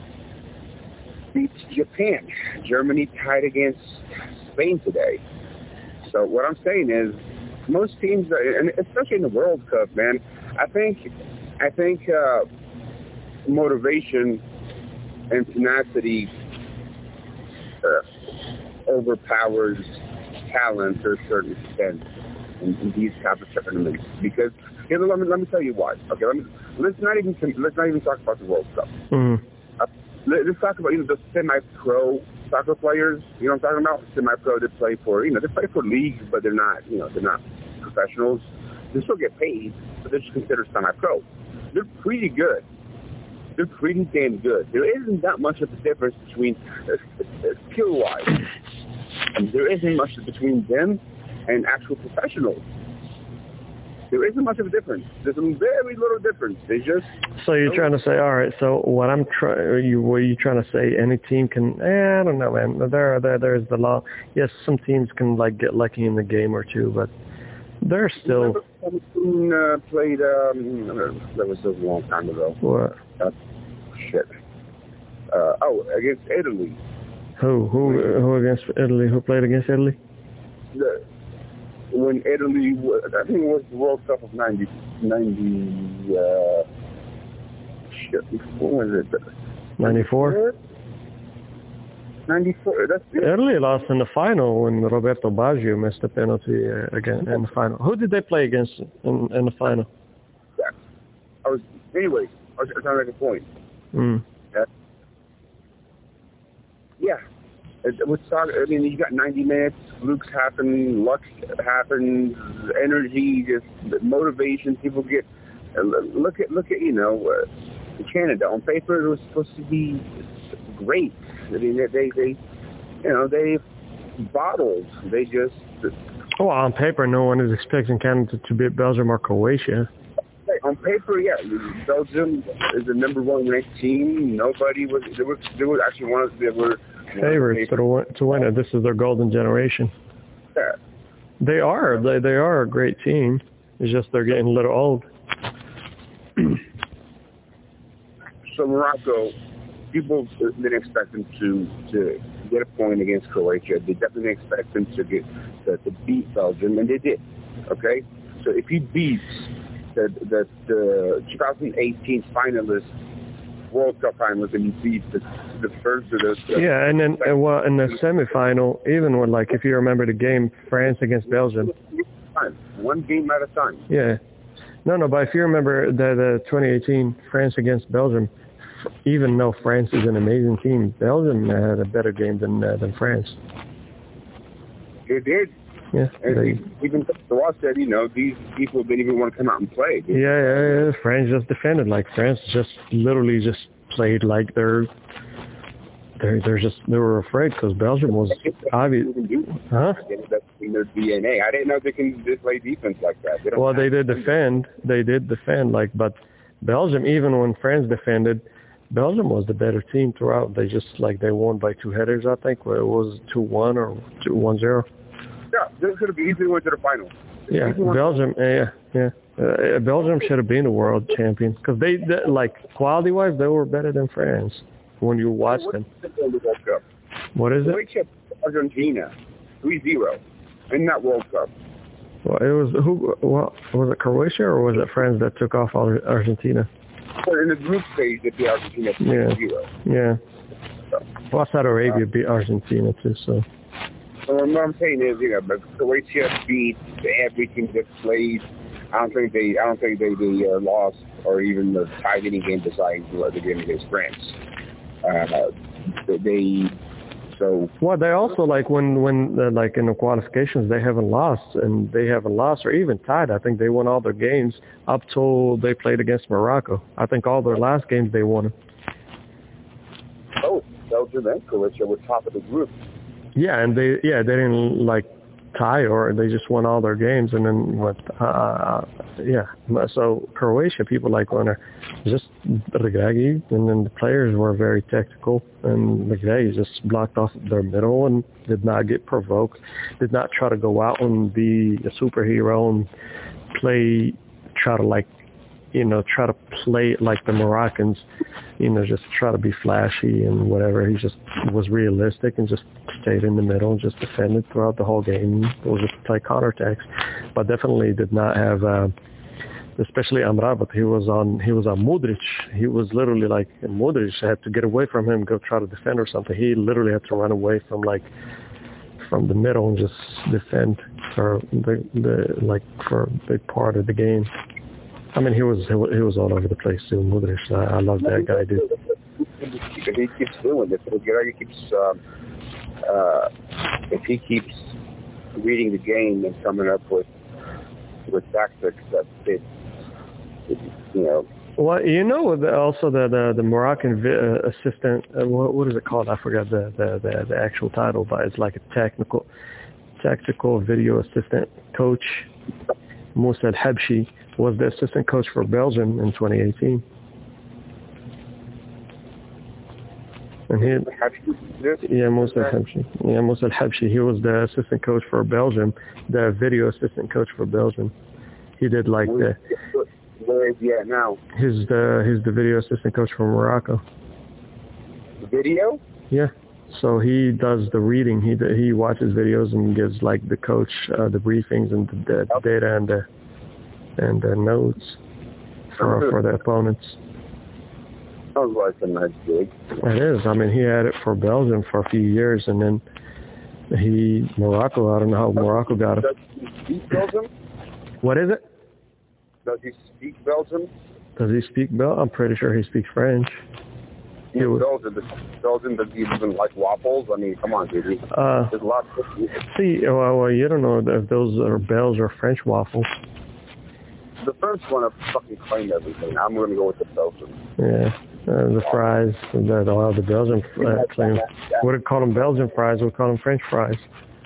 Japan. Germany tied against Spain today. So what I'm saying is, most teams, and especially in the World Cup, man, I think motivation and tenacity overpowers talent to a certain extent in these type of tournaments. Because let me tell you why. Okay, let's not even talk about the World Cup. Mm-hmm. Let's talk about the semi-pro soccer players. You know what I'm talking about? Semi-pro that play for they play for leagues, but they're not professionals. They still get paid, but they're just considered semi-pro. They're pretty good. They're pretty damn good. There isn't that much of a difference between skill-wise, and there isn't much between them and actual professionals. There isn't much of a difference. There's some very little difference. They just. So you're trying to say, all right. So what were you trying to say? Any team can? I don't know, man. There's the law. Yes, some teams can get lucky in the game or two, but they're still. Played. That was a long time ago. What? Shit. Against Italy. Who against Italy? Who played against Italy? When Italy, I think it was the World Cup of 90, what was it? 94? 94, that's it. Italy lost in the final when Roberto Baggio missed a penalty again in the final. Who did they play against in the final? Yeah. I was trying to make a point. Yeah. With soccer, you got 90 minutes, flukes happen, luck happens, energy, just motivation. People get look at Canada. On paper, it was supposed to be great. They bottled. They just. Well, on paper, no one is expecting Canada to beat Belgium or Croatia. On paper, yeah, Belgium is the number one ranked team. Nobody was. They were actually one of. They were favorites to win it. This is their golden generation. Yeah. They are a great team. It's just they're getting a little old. So Morocco, people didn't expect them to get a point against Croatia. They definitely expect them to beat Belgium, and they did. Okay, so if he beats the 2018 finalists, World Cup finalists, and he beats the first of those. Yeah, and then in the semifinal, even when if you remember the game France against Belgium. One game at a time. Yeah. No, but if you remember the 2018 France against Belgium, even though France is an amazing team, Belgium had a better game than France. They did. Yeah. And even Ross said, these people didn't even want to come out and play. Yeah. France just defended. France just literally just played like they were afraid because Belgium was obvious. Huh? That's in their DNA. I didn't know they can play defense like that. They did defend. But Belgium, even when France defended, Belgium was the better team throughout. They just they won by 2 headers, I think. It was 2-1 or 1-0. Yeah, they could have easily went to the final. Yeah, Belgium. Yeah. Belgium should have been the world champion because they quality-wise, they were better than France when you watch them. What is it? Argentina, 3-0 in that World Cup. Well, it was was it Croatia or was it France that took off Argentina? Well, in the group stage, they beat Argentina 3-0. Yeah. Well, Saudi Arabia beat Argentina too, so. So what I'm saying is, but Croatia beat everything that played. I don't think they lost or even tied any game besides the game against France. They also when in the qualifications they haven't lost or even tied. I think they won all their games up till they played against Morocco. I think all their last games they won. Oh, Belgium and Croatia were top of the group. Yeah, and they didn't tie or they just won all their games and then went. So Croatia people want to just Regragui, and then the players were very tactical, and Regragui just blocked off their middle and did not get provoked, did not try to go out and be a superhero and try to play like the Moroccans, just try to be flashy and whatever. He just was realistic and just stayed in the middle and just defended throughout the whole game. It was just play counterattacks, but definitely did not have, especially Amrabat. He was on Modric. He was literally Modric had to get away from him, go try to defend or something. He literally had to run away from the middle and just defend for for a big part of the game. I mean, he was all over the place too, Modric. I love that guy, dude. He keeps doing it. If he keeps reading the game and coming up with tactics that fit, Well, also the Moroccan assistant. What is it called? I forgot the actual title, but it's like a tactical video assistant coach. Moussa El Habshi was the assistant coach for Belgium in 2018. And Moussa El Habshi. Yeah, Moussa El Habshi. He was the assistant coach for Belgium, the video assistant coach for Belgium. He did Where is he at now? He's the video assistant coach for Morocco. Video? Yeah. So he does the reading. He watches videos and gives the coach the briefings and the data and the notes for the opponents. Sounds like a nice gig. It is. I mean, he had it for Belgium for a few years, and then Morocco. I don't know how Morocco got it. Does he speak Belgium? What is it? Does he speak Belgium? Does he speak Belgium? I'm pretty sure he speaks French. Belgium, does he even like waffles? I mean, come on, dude. There's a lot of... Well, you don't know if those are Belgian or French waffles. The French want to fucking claim everything. I'm going to go with the Belgian. Yeah, the fries. The Belgian claim. We would call them Belgian fries. We call them French fries.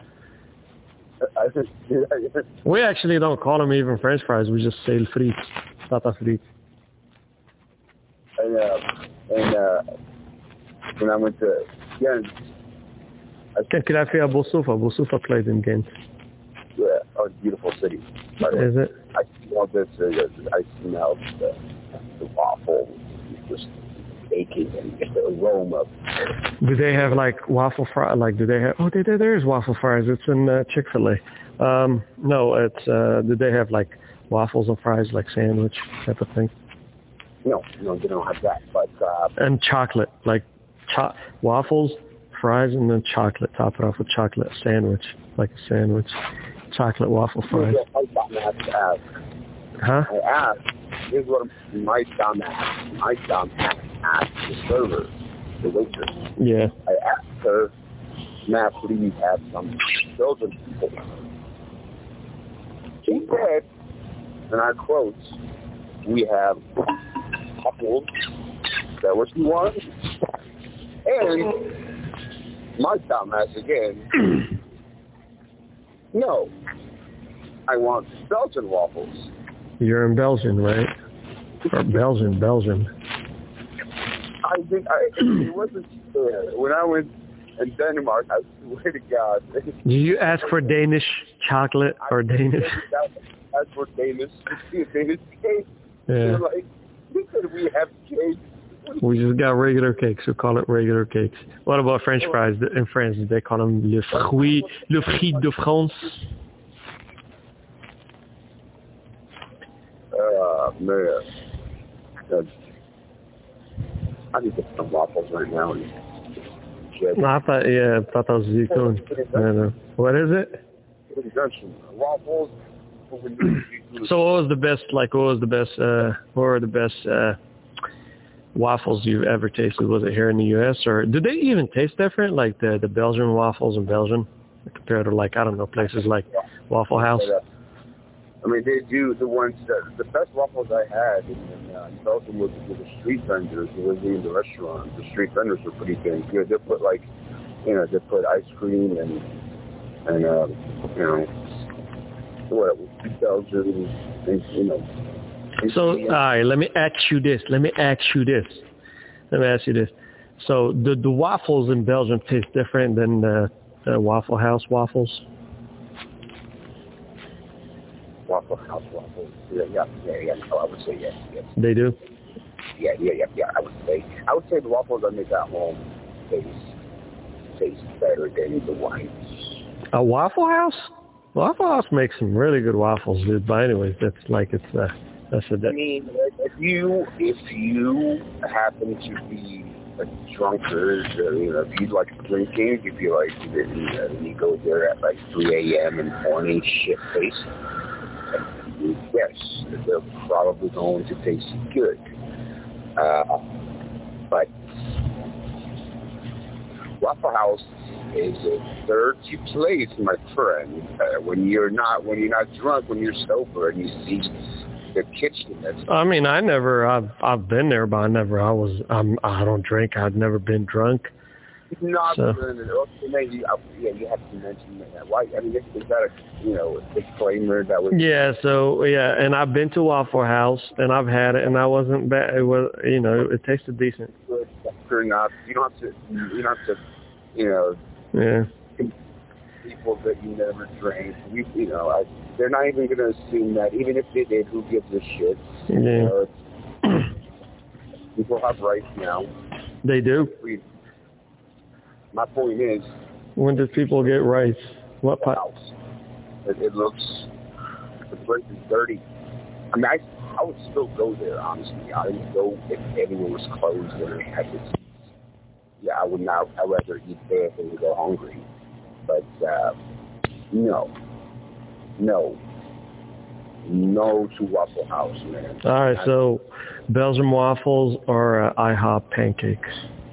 We actually don't call them even French fries. We just say frites, tata frites. And when I went to كان كيلعب فيها أبو صوفة played in games. Yeah, a beautiful city. Is it? I smelled the waffle. Just baking and just the aroma. Do they have like waffle fry? Like, do they have? Oh, there's waffle fries. It's in Chick-fil-A. No, it's. Do they have like waffles and fries, like sandwich type of thing? No, they don't have that. But and chocolate, like waffles, fries, and then chocolate. Top it off with chocolate sandwich, like a sandwich. Chocolate waffle fries. Huh? I asked. Here's what my dumb ass asked the server, the waitress. Yeah. I asked her, "Matt, please have some children." She said, and I quote, "We have couples." That what she wants. And my dumb ass again. No, I want Belgian waffles. You're in Belgium, right? Or Belgium. I think it wasn't fair. When I went in Denmark, I swear to God. Did you ask for Danish chocolate or Danish? Ask for Danish cake. Yeah. They're like, could we have cake? We just got regular cakes. We call it regular cakes. What about French fries? In France, they call them le fruit de France. Man. I need to get some waffles right now. No, I thought that was Zitoun. No. What is it? Waffles. So what were the best waffles you've ever tasted? Was it here in the U.S. or do they even taste different? Like the Belgian waffles in Belgium compared to like, I don't know, places like Waffle House? I mean, they do the ones the best waffles I had in Belgium was with the street vendors. It wasn't in the restaurant. The street vendors were pretty dang good. They put they put ice cream and Belgian, and, So, all right, let me ask you this. So, the waffles in Belgium taste different than the Waffle House waffles? Waffle House waffles. Yeah. I would say yes. They do? Yeah. I would say the waffles I make at home taste better than the ones. A Waffle House? Waffle House makes some really good waffles, dude. But anyways, that's I mean, if you happen to be a drunkard, if you like drinking, if you like, you go there at like 3 a.m. in the morning, shit face. Yes, they're probably going to taste good. But Waffle House is a dirty place, my friend. When you're not drunk, when you're sober, and you see the kitchen. I mean, I've been there, but I don't drink. I've never been drunk. Not so. You have to mention that. Why? I mean, is that a disclaimer that was? Yeah. So and I've been to Waffle House and I've had it and I wasn't bad. It was, it tasted decent. Or not? You don't have to. Yeah. People that you never drank. They're not even going to assume that. Even if they did, who gives a shit? Yeah. People have rights now. They do. My point is, when did people get rights? What house? It looks, the place is dirty. I mean, I would still go there, honestly. I would go if everyone was closed and I could. Yeah, I would not. I'd rather eat there than to go hungry. But no to Waffle House, man. All right, so Belgian waffles or IHOP pancakes?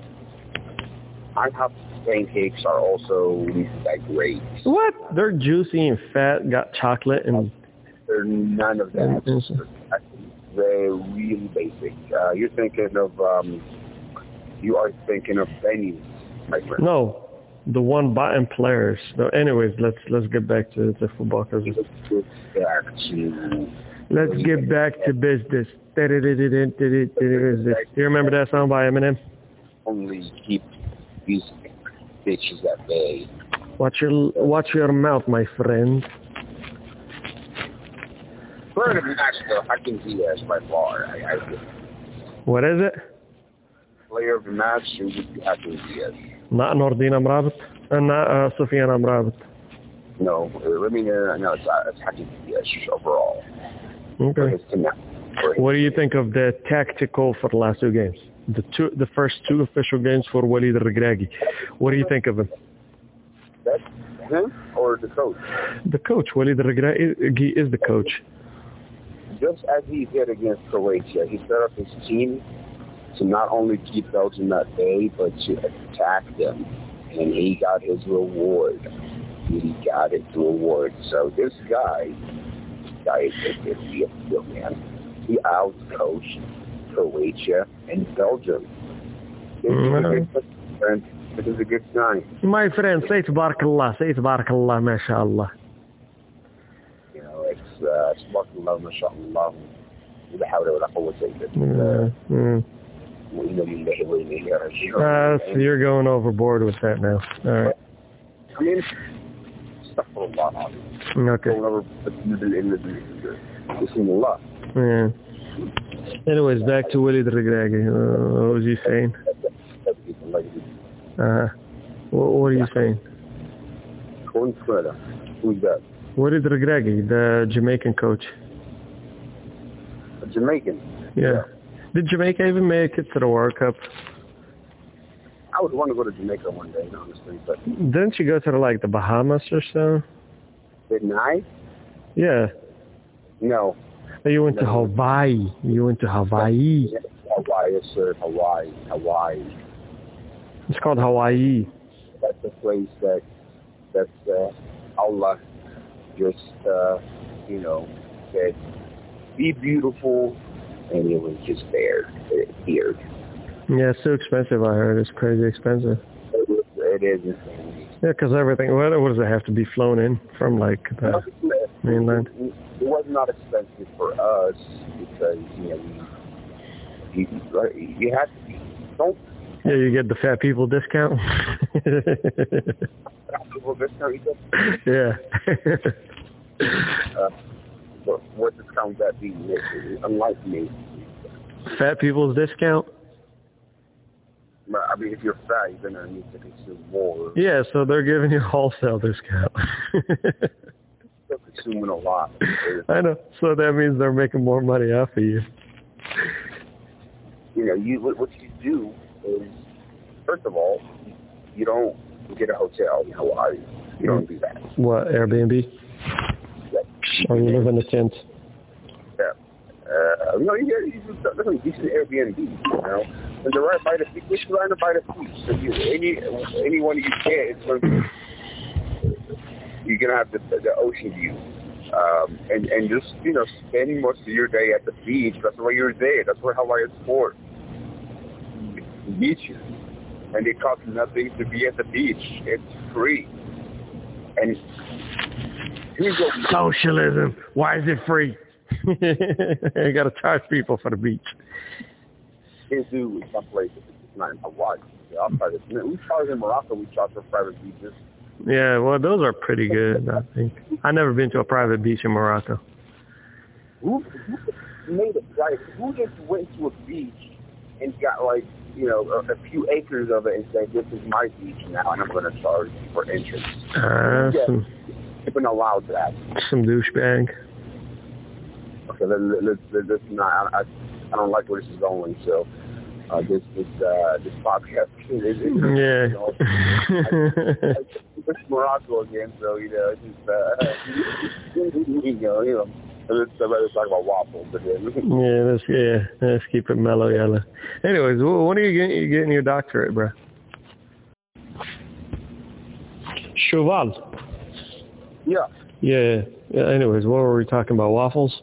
IHOP pancakes are also that great. What? They're juicy and fat, got chocolate and... They're none of that. They're really basic. You are thinking of venues, my friend. No, the one button players. So anyways, let's get back to the football. Let's get back to business. Do you remember that song by Eminem? Only keep these bitches at bay. Watch your mouth, my friend. For international, I can see as by far. What is it? player of the match, it would be Hakeem Ziyech. Not Nordin Amrabat? Not Sufyan Amrabat? No, it's Hakeem Ziyech overall. Okay. What do you think of the tactical for the last two games? The first two official games for Walid Regragui. What do you think of him? That's him or the coach? The coach. Walid Regragui is the coach. Just as he did against Croatia, he set up his team to not only keep Belgium at bay, but to attack them. And he got his reward. He got his reward. So this guy is a real man. He out-coached Croatia and Belgium. This is a good sign. My friend, say Tabarakallah, mashallah. You know, it's Tabarakallah, mashallah. La hawla wa la quwwata illa billah. You're going overboard with that now. All right. I mean, astaghfirullah. Okay. Going over Bismillah. Yeah. Anyways, back to Walid Regragui. What was he saying? What are you saying? Who's that? Walid Regragui, the Jamaican coach. A Jamaican? Yeah. Did Jamaica even make it to the World Cup? I would want to go to Jamaica one day, honestly. But didn't you go to the Bahamas or so? Didn't I? Yeah. No. You went to Hawaii. Hawaii, sir. Hawaii. It's called Hawaii. That's a place that Allah just, said, be beautiful, and it was just there. It appeared. Yeah, it's so expensive, I heard. It's crazy expensive. It is insane. Yeah, because everything, what does it have to be flown in from, the mainland? It was not expensive for us because, you have to, don't. Yeah, you get the fat people discount. Fat people discount, you said? Yeah. What discount would that be? Unlike me. Fat people's discount? I mean, if you're fat, you're going to need to consume more. Yeah, so they're giving you a wholesale discount. They're consuming a lot. I know. So that means they're making more money off of you. What you do is, first of all, you don't get a hotel in Hawaii. You don't do that. What, Airbnb? Yeah. Or you live in a tent? Yeah. You get a decent Airbnb, And they're right by the beach. Which line by the beach? So anyone you get, it's going to be, you're going to have the ocean view. And just, spend most of your day at the beach. That's why you're there. That's where Hawaii is for. Beaches. And it costs nothing to be at the beach. It's free. And here's what socialism. Why is it free? You got to charge people for the beach. Here's in some places. It's not in Hawaii. We charge in Morocco. We charge for private beaches. Yeah, well, those are pretty good, I think. I've never been to a private beach in Morocco. Who made it private? Who just went to a beach and got, a few acres of it and said, this is my beach now, and I'm going to charge you for entrance? You've been allowed that. Some douchebag. Okay, let's not. I don't like where this is going, so this podcast is it's Morocco again, so it's let's talk about waffles again. Let's keep it mellow, yellow. Anyways, when are you getting your doctorate, bro? Cheval. Yeah. Anyways, what were we talking about? Waffles?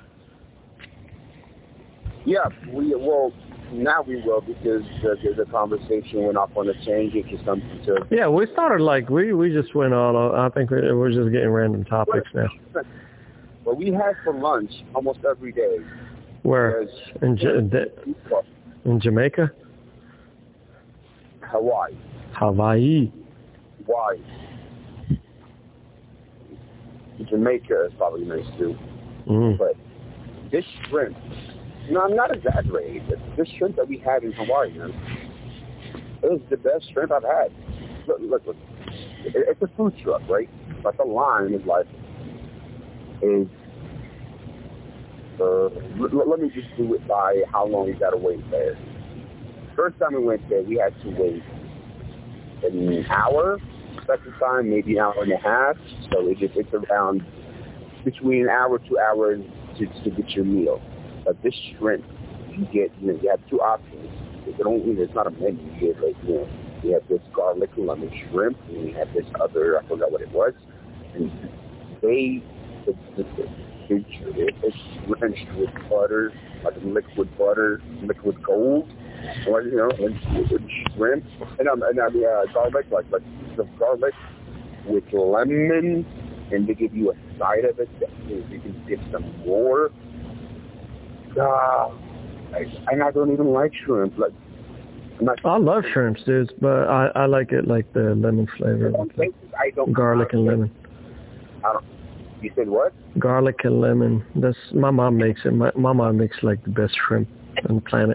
Yeah, now we will because the conversation went off on a tangent to something to... Yeah, we started we just went all... I think we're just getting random topics now. Well, we had for lunch almost every day. Where? In Jamaica? Hawaii. Why? Jamaica is probably nice too. But this shrimp... No, I'm not exaggerating. This shrimp that we had in Hawaii, man, It's the best shrimp I've had. Look. It's a food truck, right? But the line is like, let me just do it by how long you got to wait there. First time we went there, we had to wait an hour. Second time, maybe an hour and a half. So it's around between an hour, 2 hours to get your meal. But this shrimp, you have two options. It's not a menu. You get you have this garlic and lemon shrimp, and you have this other, I forgot what it was. And it's drenched with butter, like liquid butter, liquid gold, or and shrimp, and garlic, like the garlic with lemon, and they give you a side of it that you can get some more. And I don't even like shrimp. I love shrimps, dude, but I like it like the lemon flavor, garlic and lemon. You said what? Garlic and lemon. That's my mom makes it. My mom makes like the best shrimp on the planet.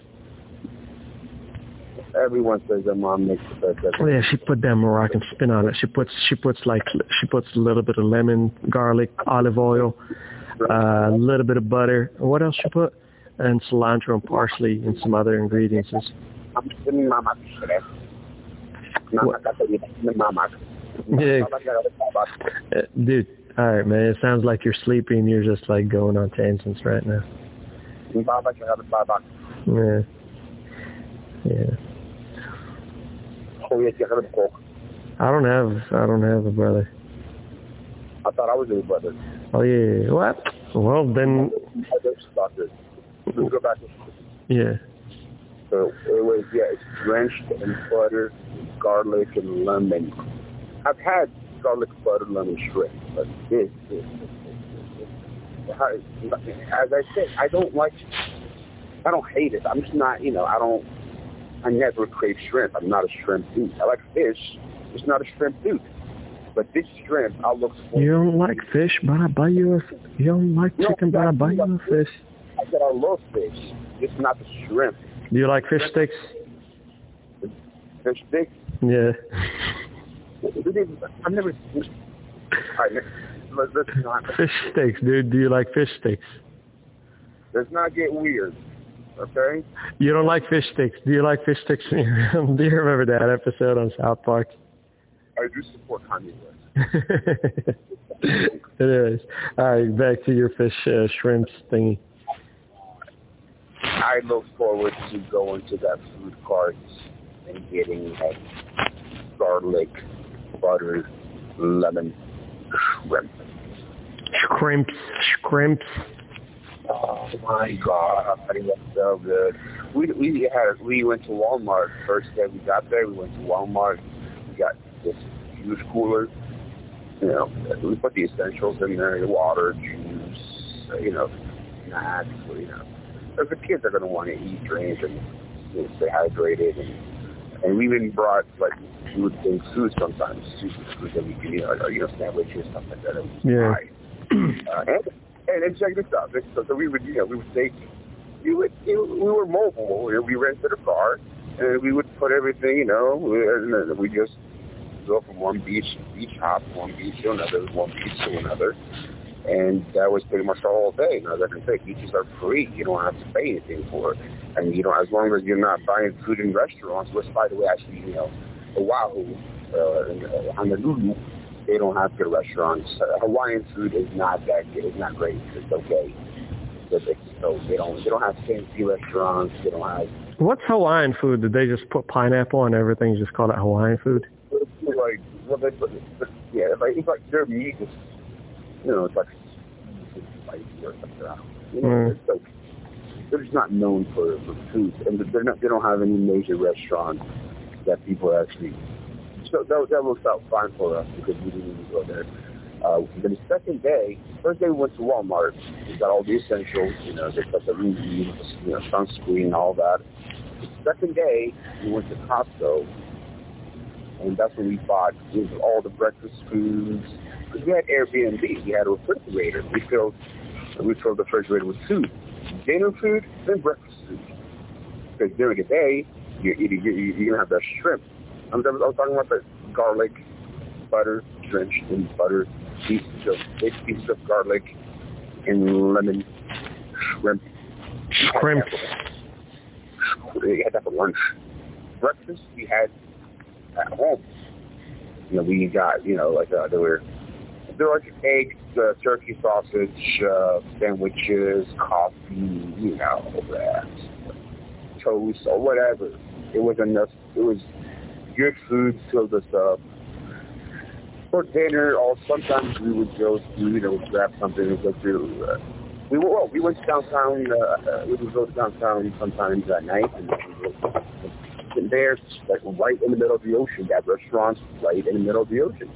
Everyone says their mom makes the best. Oh yeah, she put that Moroccan spin on it. She puts a little bit of lemon, garlic, olive oil, a little bit of butter. What else she put? And cilantro and parsley and some other ingredients. Yeah. Dude, all right, man. It sounds like you're sleepy and you're just like going on tangents right now. Yeah. Yeah. I don't have a brother. I thought I was your brother. Oh yeah. What? Well then. Let's go back. Yeah. So it's drenched in butter, garlic, and lemon. I've had garlic, butter, lemon shrimp, but this. As I said, I don't hate it. I'm just not, I never crave shrimp. I'm not a shrimp dude. I like fish, just not a shrimp dude. But this shrimp, I'll look for. You don't like fish, but I buy you you don't like chicken, but I buy you a fish. I said I love fish, just not the shrimp. Do you like fish sticks? Fish sticks? Yeah. I've never. All right, let's not. Fish sticks, dude. Do you like fish sticks? Let's not get weird, okay? You don't like fish sticks. Do you like fish sticks? Do you remember that episode on South Park? I do support Kanye West. It is. All right, back to your fish shrimps thingy. I look forward to going to that food cart and getting that garlic, butter, lemon, shrimp. Shrimps. Oh my God, that's so good. We went to Walmart first day we got there. We went to Walmart. We got this huge cooler. We put the essentials in there: the water, juice, snacks. The kids are going to want to eat, drink, and stay hydrated. And we even brought food sometimes, food that we can, sandwiches, stuff like that. Yeah. And check this out. So we would say, we were mobile. We rented a car, and we would put everything, and we just go from one beach hop, one beach to another, one beach to another. And that was pretty much the whole day. As I can say, beaches are free. You don't have to pay anything for it. And, as long as you're not buying food in restaurants, which, by the way, actually, Oahu, Honolulu, they don't have good restaurants. Hawaiian food is not that good. It's not great. It's okay. So they don't have fancy restaurants. They don't have... What's Hawaiian food? Did they just put pineapple on everything and just call it Hawaiian food? It's like their meat is... it's like spicy or something. So they're just not known for food, and they don't have any major restaurants that people actually. So that works out fine for us because we didn't even go there. Then the second day, first day we went to Walmart. We got all the essentials, just like the room, sunscreen, all that. The second day we went to Costco, and that's when we bought all the breakfast foods. We had Airbnb. We had a refrigerator. We filled the refrigerator with food. Dinner food, then breakfast food. Because during the day, you're gonna have the shrimp. I was talking about the garlic, butter, drenched in butter, big pieces of garlic and lemon, shrimp. Shrimp. You had that for lunch. Breakfast we had at home. We got there were eggs, turkey sausage, sandwiches, coffee, toast or whatever. It was enough. It was good food to fill us up. For dinner, or sometimes we would go to, grab something and go to. We went to downtown. We would go to downtown sometimes at night, and there's like right in the middle of the ocean. That restaurant's right in the middle of the ocean.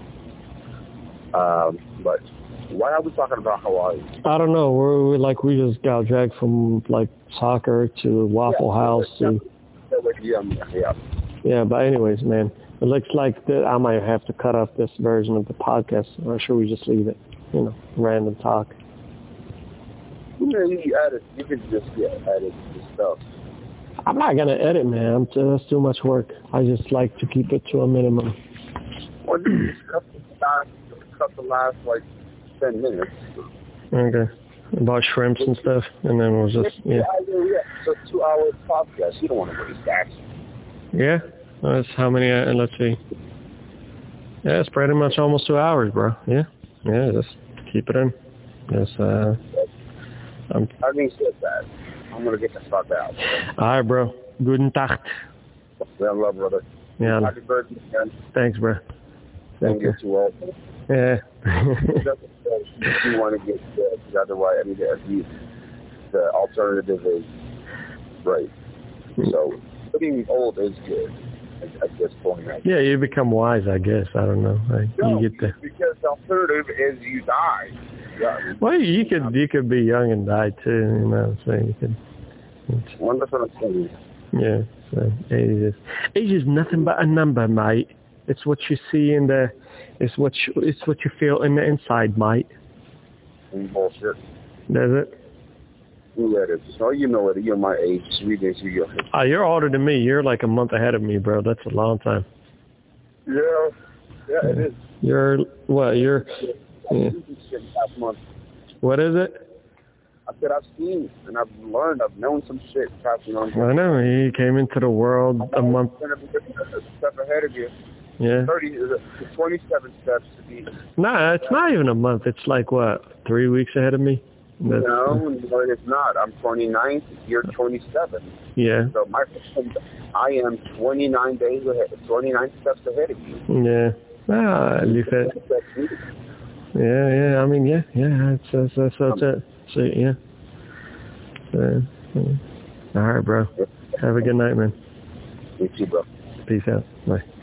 But why are we talking about Hawaii? I don't know. We just got dragged from like soccer to Waffle House to. Yeah, but anyways, man, it looks like I might have to cut off this version of the podcast, or should we just leave it? Random talk. Yeah, you can just edit the stuff. I'm not gonna edit, man. That's too much work. I just like to keep it to a minimum. Well, you just cut the last 10 minutes. Okay. About shrimps and stuff, and then we'll just So 2 hour podcast. You don't want to waste that. Yeah. That's how many? Let's see. Yeah, it's pretty much almost 2 hours, bro. Yeah. Just keep it in. Just Having said that, I'm gonna get the fuck out. All right, bro. Guten Tag. Well, love, brother. Yeah. Happy birthday, man. Thanks, bro. Don't get too old. Yeah. You want to get otherwise, the alternative is right. So getting old is good at this point. Yeah, you become wise, I guess. I don't know. You get because the alternative is you die. Yeah. Well, you could be young and die too. You know what I'm saying? Well, that's what I'm saying. Yeah. So age is nothing but a number, mate. It's what you see it's what you feel in the inside, mate. Bullshit. Does it? Yeah, it is. So you're my age. You're older than me. You're like a month ahead of me, bro. That's a long time. Yeah, it is. You're what? What is it? I said I've seen and I've learned. I've known some shit passing on. I know. He came into the world a month. A step ahead of you. Yeah. 27 steps to be. Nah, it's not even a month. It's like, what, 3 weeks ahead of me? No, it's not. I'm 29. You're 27. Yeah. So I am 29 days ahead, 29 steps ahead of you. Yeah. You said. Yeah. I mean, yeah. That's it. So, yeah. All right, bro. Have a good night, man. You too, bro. Peace out. Bye.